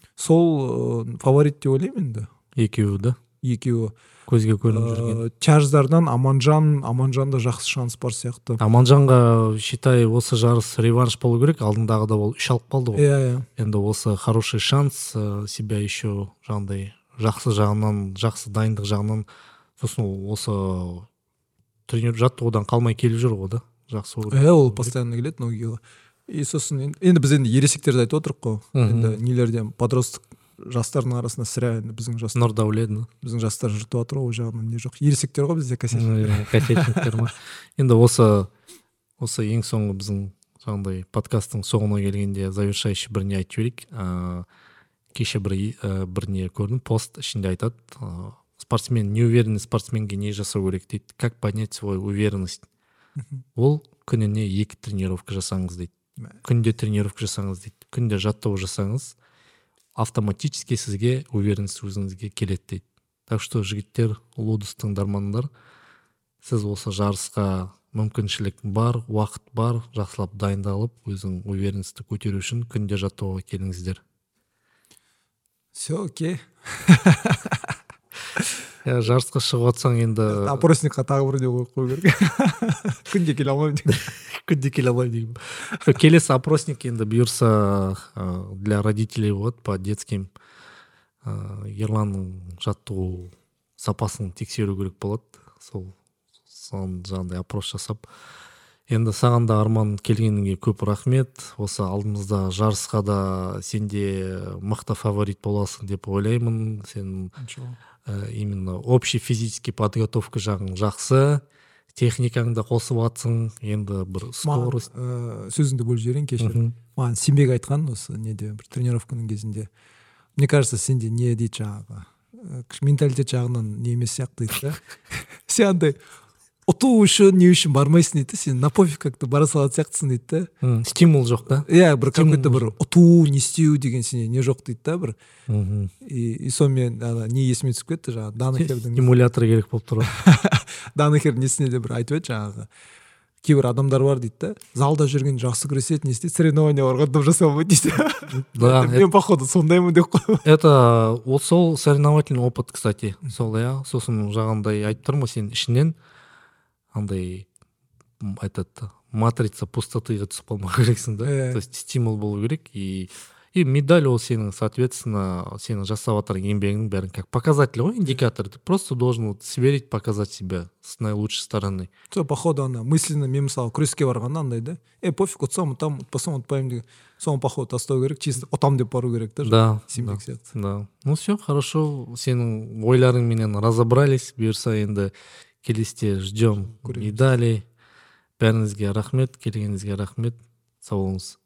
Сол ә, фаворит деп ойлаймын енді. Екеуі да Екеуі. көзге көрініп жүрген. Ә, Чарждардан Аманжан, Аманжанда жақсы шанс бар сияқты. Аманжанға считай осы жарыс реванш болу керек, алдындағыда ол үш алып қалды ғой. Иә, иә. Енді осы хороший шанс ә, себя еще жаңағыдай жақсы жағынан, жақсы дайындық жағынан, сосын ол осы тренер жаттығудан қалмай келіп жүр ғой да, жақсы olur. Иә, ол постоянно келеді Ногиға. И сосын енді, енді біз енді ересектерді айтып отырық қой. Енді нелерден подростық жастардың арасында сірә енді біздің жастар, Нұрдәулет, біздің жастар жыртып жатыр ғой, ол жағынан не жоқ. Ересектер ғой бізде кәсек. кассетниктер ма. Енді осы осы ең соңғы біздің жаңағыдай подкасттың соңына келгенде завершающий бір не айтып жіберейік. Ә, кеше бір ә, бір не көрдім, пост ішінде айтады, ә, спортсмен, неуверенный спортсменге не жасау керек дейді, как поднять свою уверенность. Ол күніне екі тренировка жасаңыз дейді, күнде тренировка жасаңыз дейді, күнде жаттығу жасаңыз, автоматически сізге уверенность өзіңізге келеді дейді. Так что жігіттер, Лудус тыңдармандар, сіз осы жарысқа мүмкіншілік бар, уақыт бар, жақсылап дайындалып, өзің уверенностьті көтеру үшін күнде жаттығуға келіңіздер. все окей. Иә, жарысқа шығып жатсаң енді опросникқа тағы бір не қойып қою керек. Күнде келе алмаймын деген. күнде келе алмаймын деймін. Келесі опросник енді бұйырса ә, для родителей болады по детским. Ә, ерланның жаттығу сапасын тексеру керек болады. Сол соны жаңағыдай опрос жасап. Енді саған да Арман келгеніңе көп рахмет. Осы алдымызда жарысқа да сенде мықты фаворит боласың деп ойлаймын. Сен ә, именно общий физический подготовка жағың жақсы. Техникаңды қосып атсың. Енді бір скорость. Маған ә, сөзіңді бөліп жіберейін, кешір. Маған Сенбек айтқан осы неде бір тренировканың кезінде. Мне кажется, сенде не дейді жаңағы. Менталитет жағынан не емес сияқты дейді. Сен андай ұту үшін не үшін бармайсың дейді. Сен на пофиг как-то бара салатын сияқтысың дейді. Стимул жоқ та. Иә, бір какой-то бір ұту, не істеу деген сенде не жоқ дейді да бір. И сонымен не есіме түсіп кетті жаңағы. Данахердің стимулятор керек болып тұр. Данахер несіне де бір айтып еді жаңағы. Кейбір адамдар бар дейді да. Залда жүрген жақсы күреседі, не істейді? Соревнования барғанда жасай алмайды дейді. Да, мен походу сондаймын деп қой. Это вот сол соревновательный опыт, кстати. Сол иә, сосын жаңағындай айтып тұрмын сен ішінен андай этот матрица пустотыға түсіп қалмау керексің да. То есть стимул болу керек и и медаль ол сенің соответственно сенің жасап жатқан еңбегіңнің бәрін как показатель ғой, индикатор. Ты просто должен вот сверить, показать себя с наилучшей стороны. Сол походу ана мысленно мен мысалы күреске барғанда андай да. Э пофиг, ұтсам ұтам, ұтпасам ұтпаймын деген. Соны походу тастау керек, чисто ұтам деп бару керек та. Да, да, да. Ну все, хорошо. Сенің ойларыңменен разобрались. Бұйырса енді келесте ждем медали. Бәріңізге рахмет, келгеніңізге рахмет. Сау болыңыз.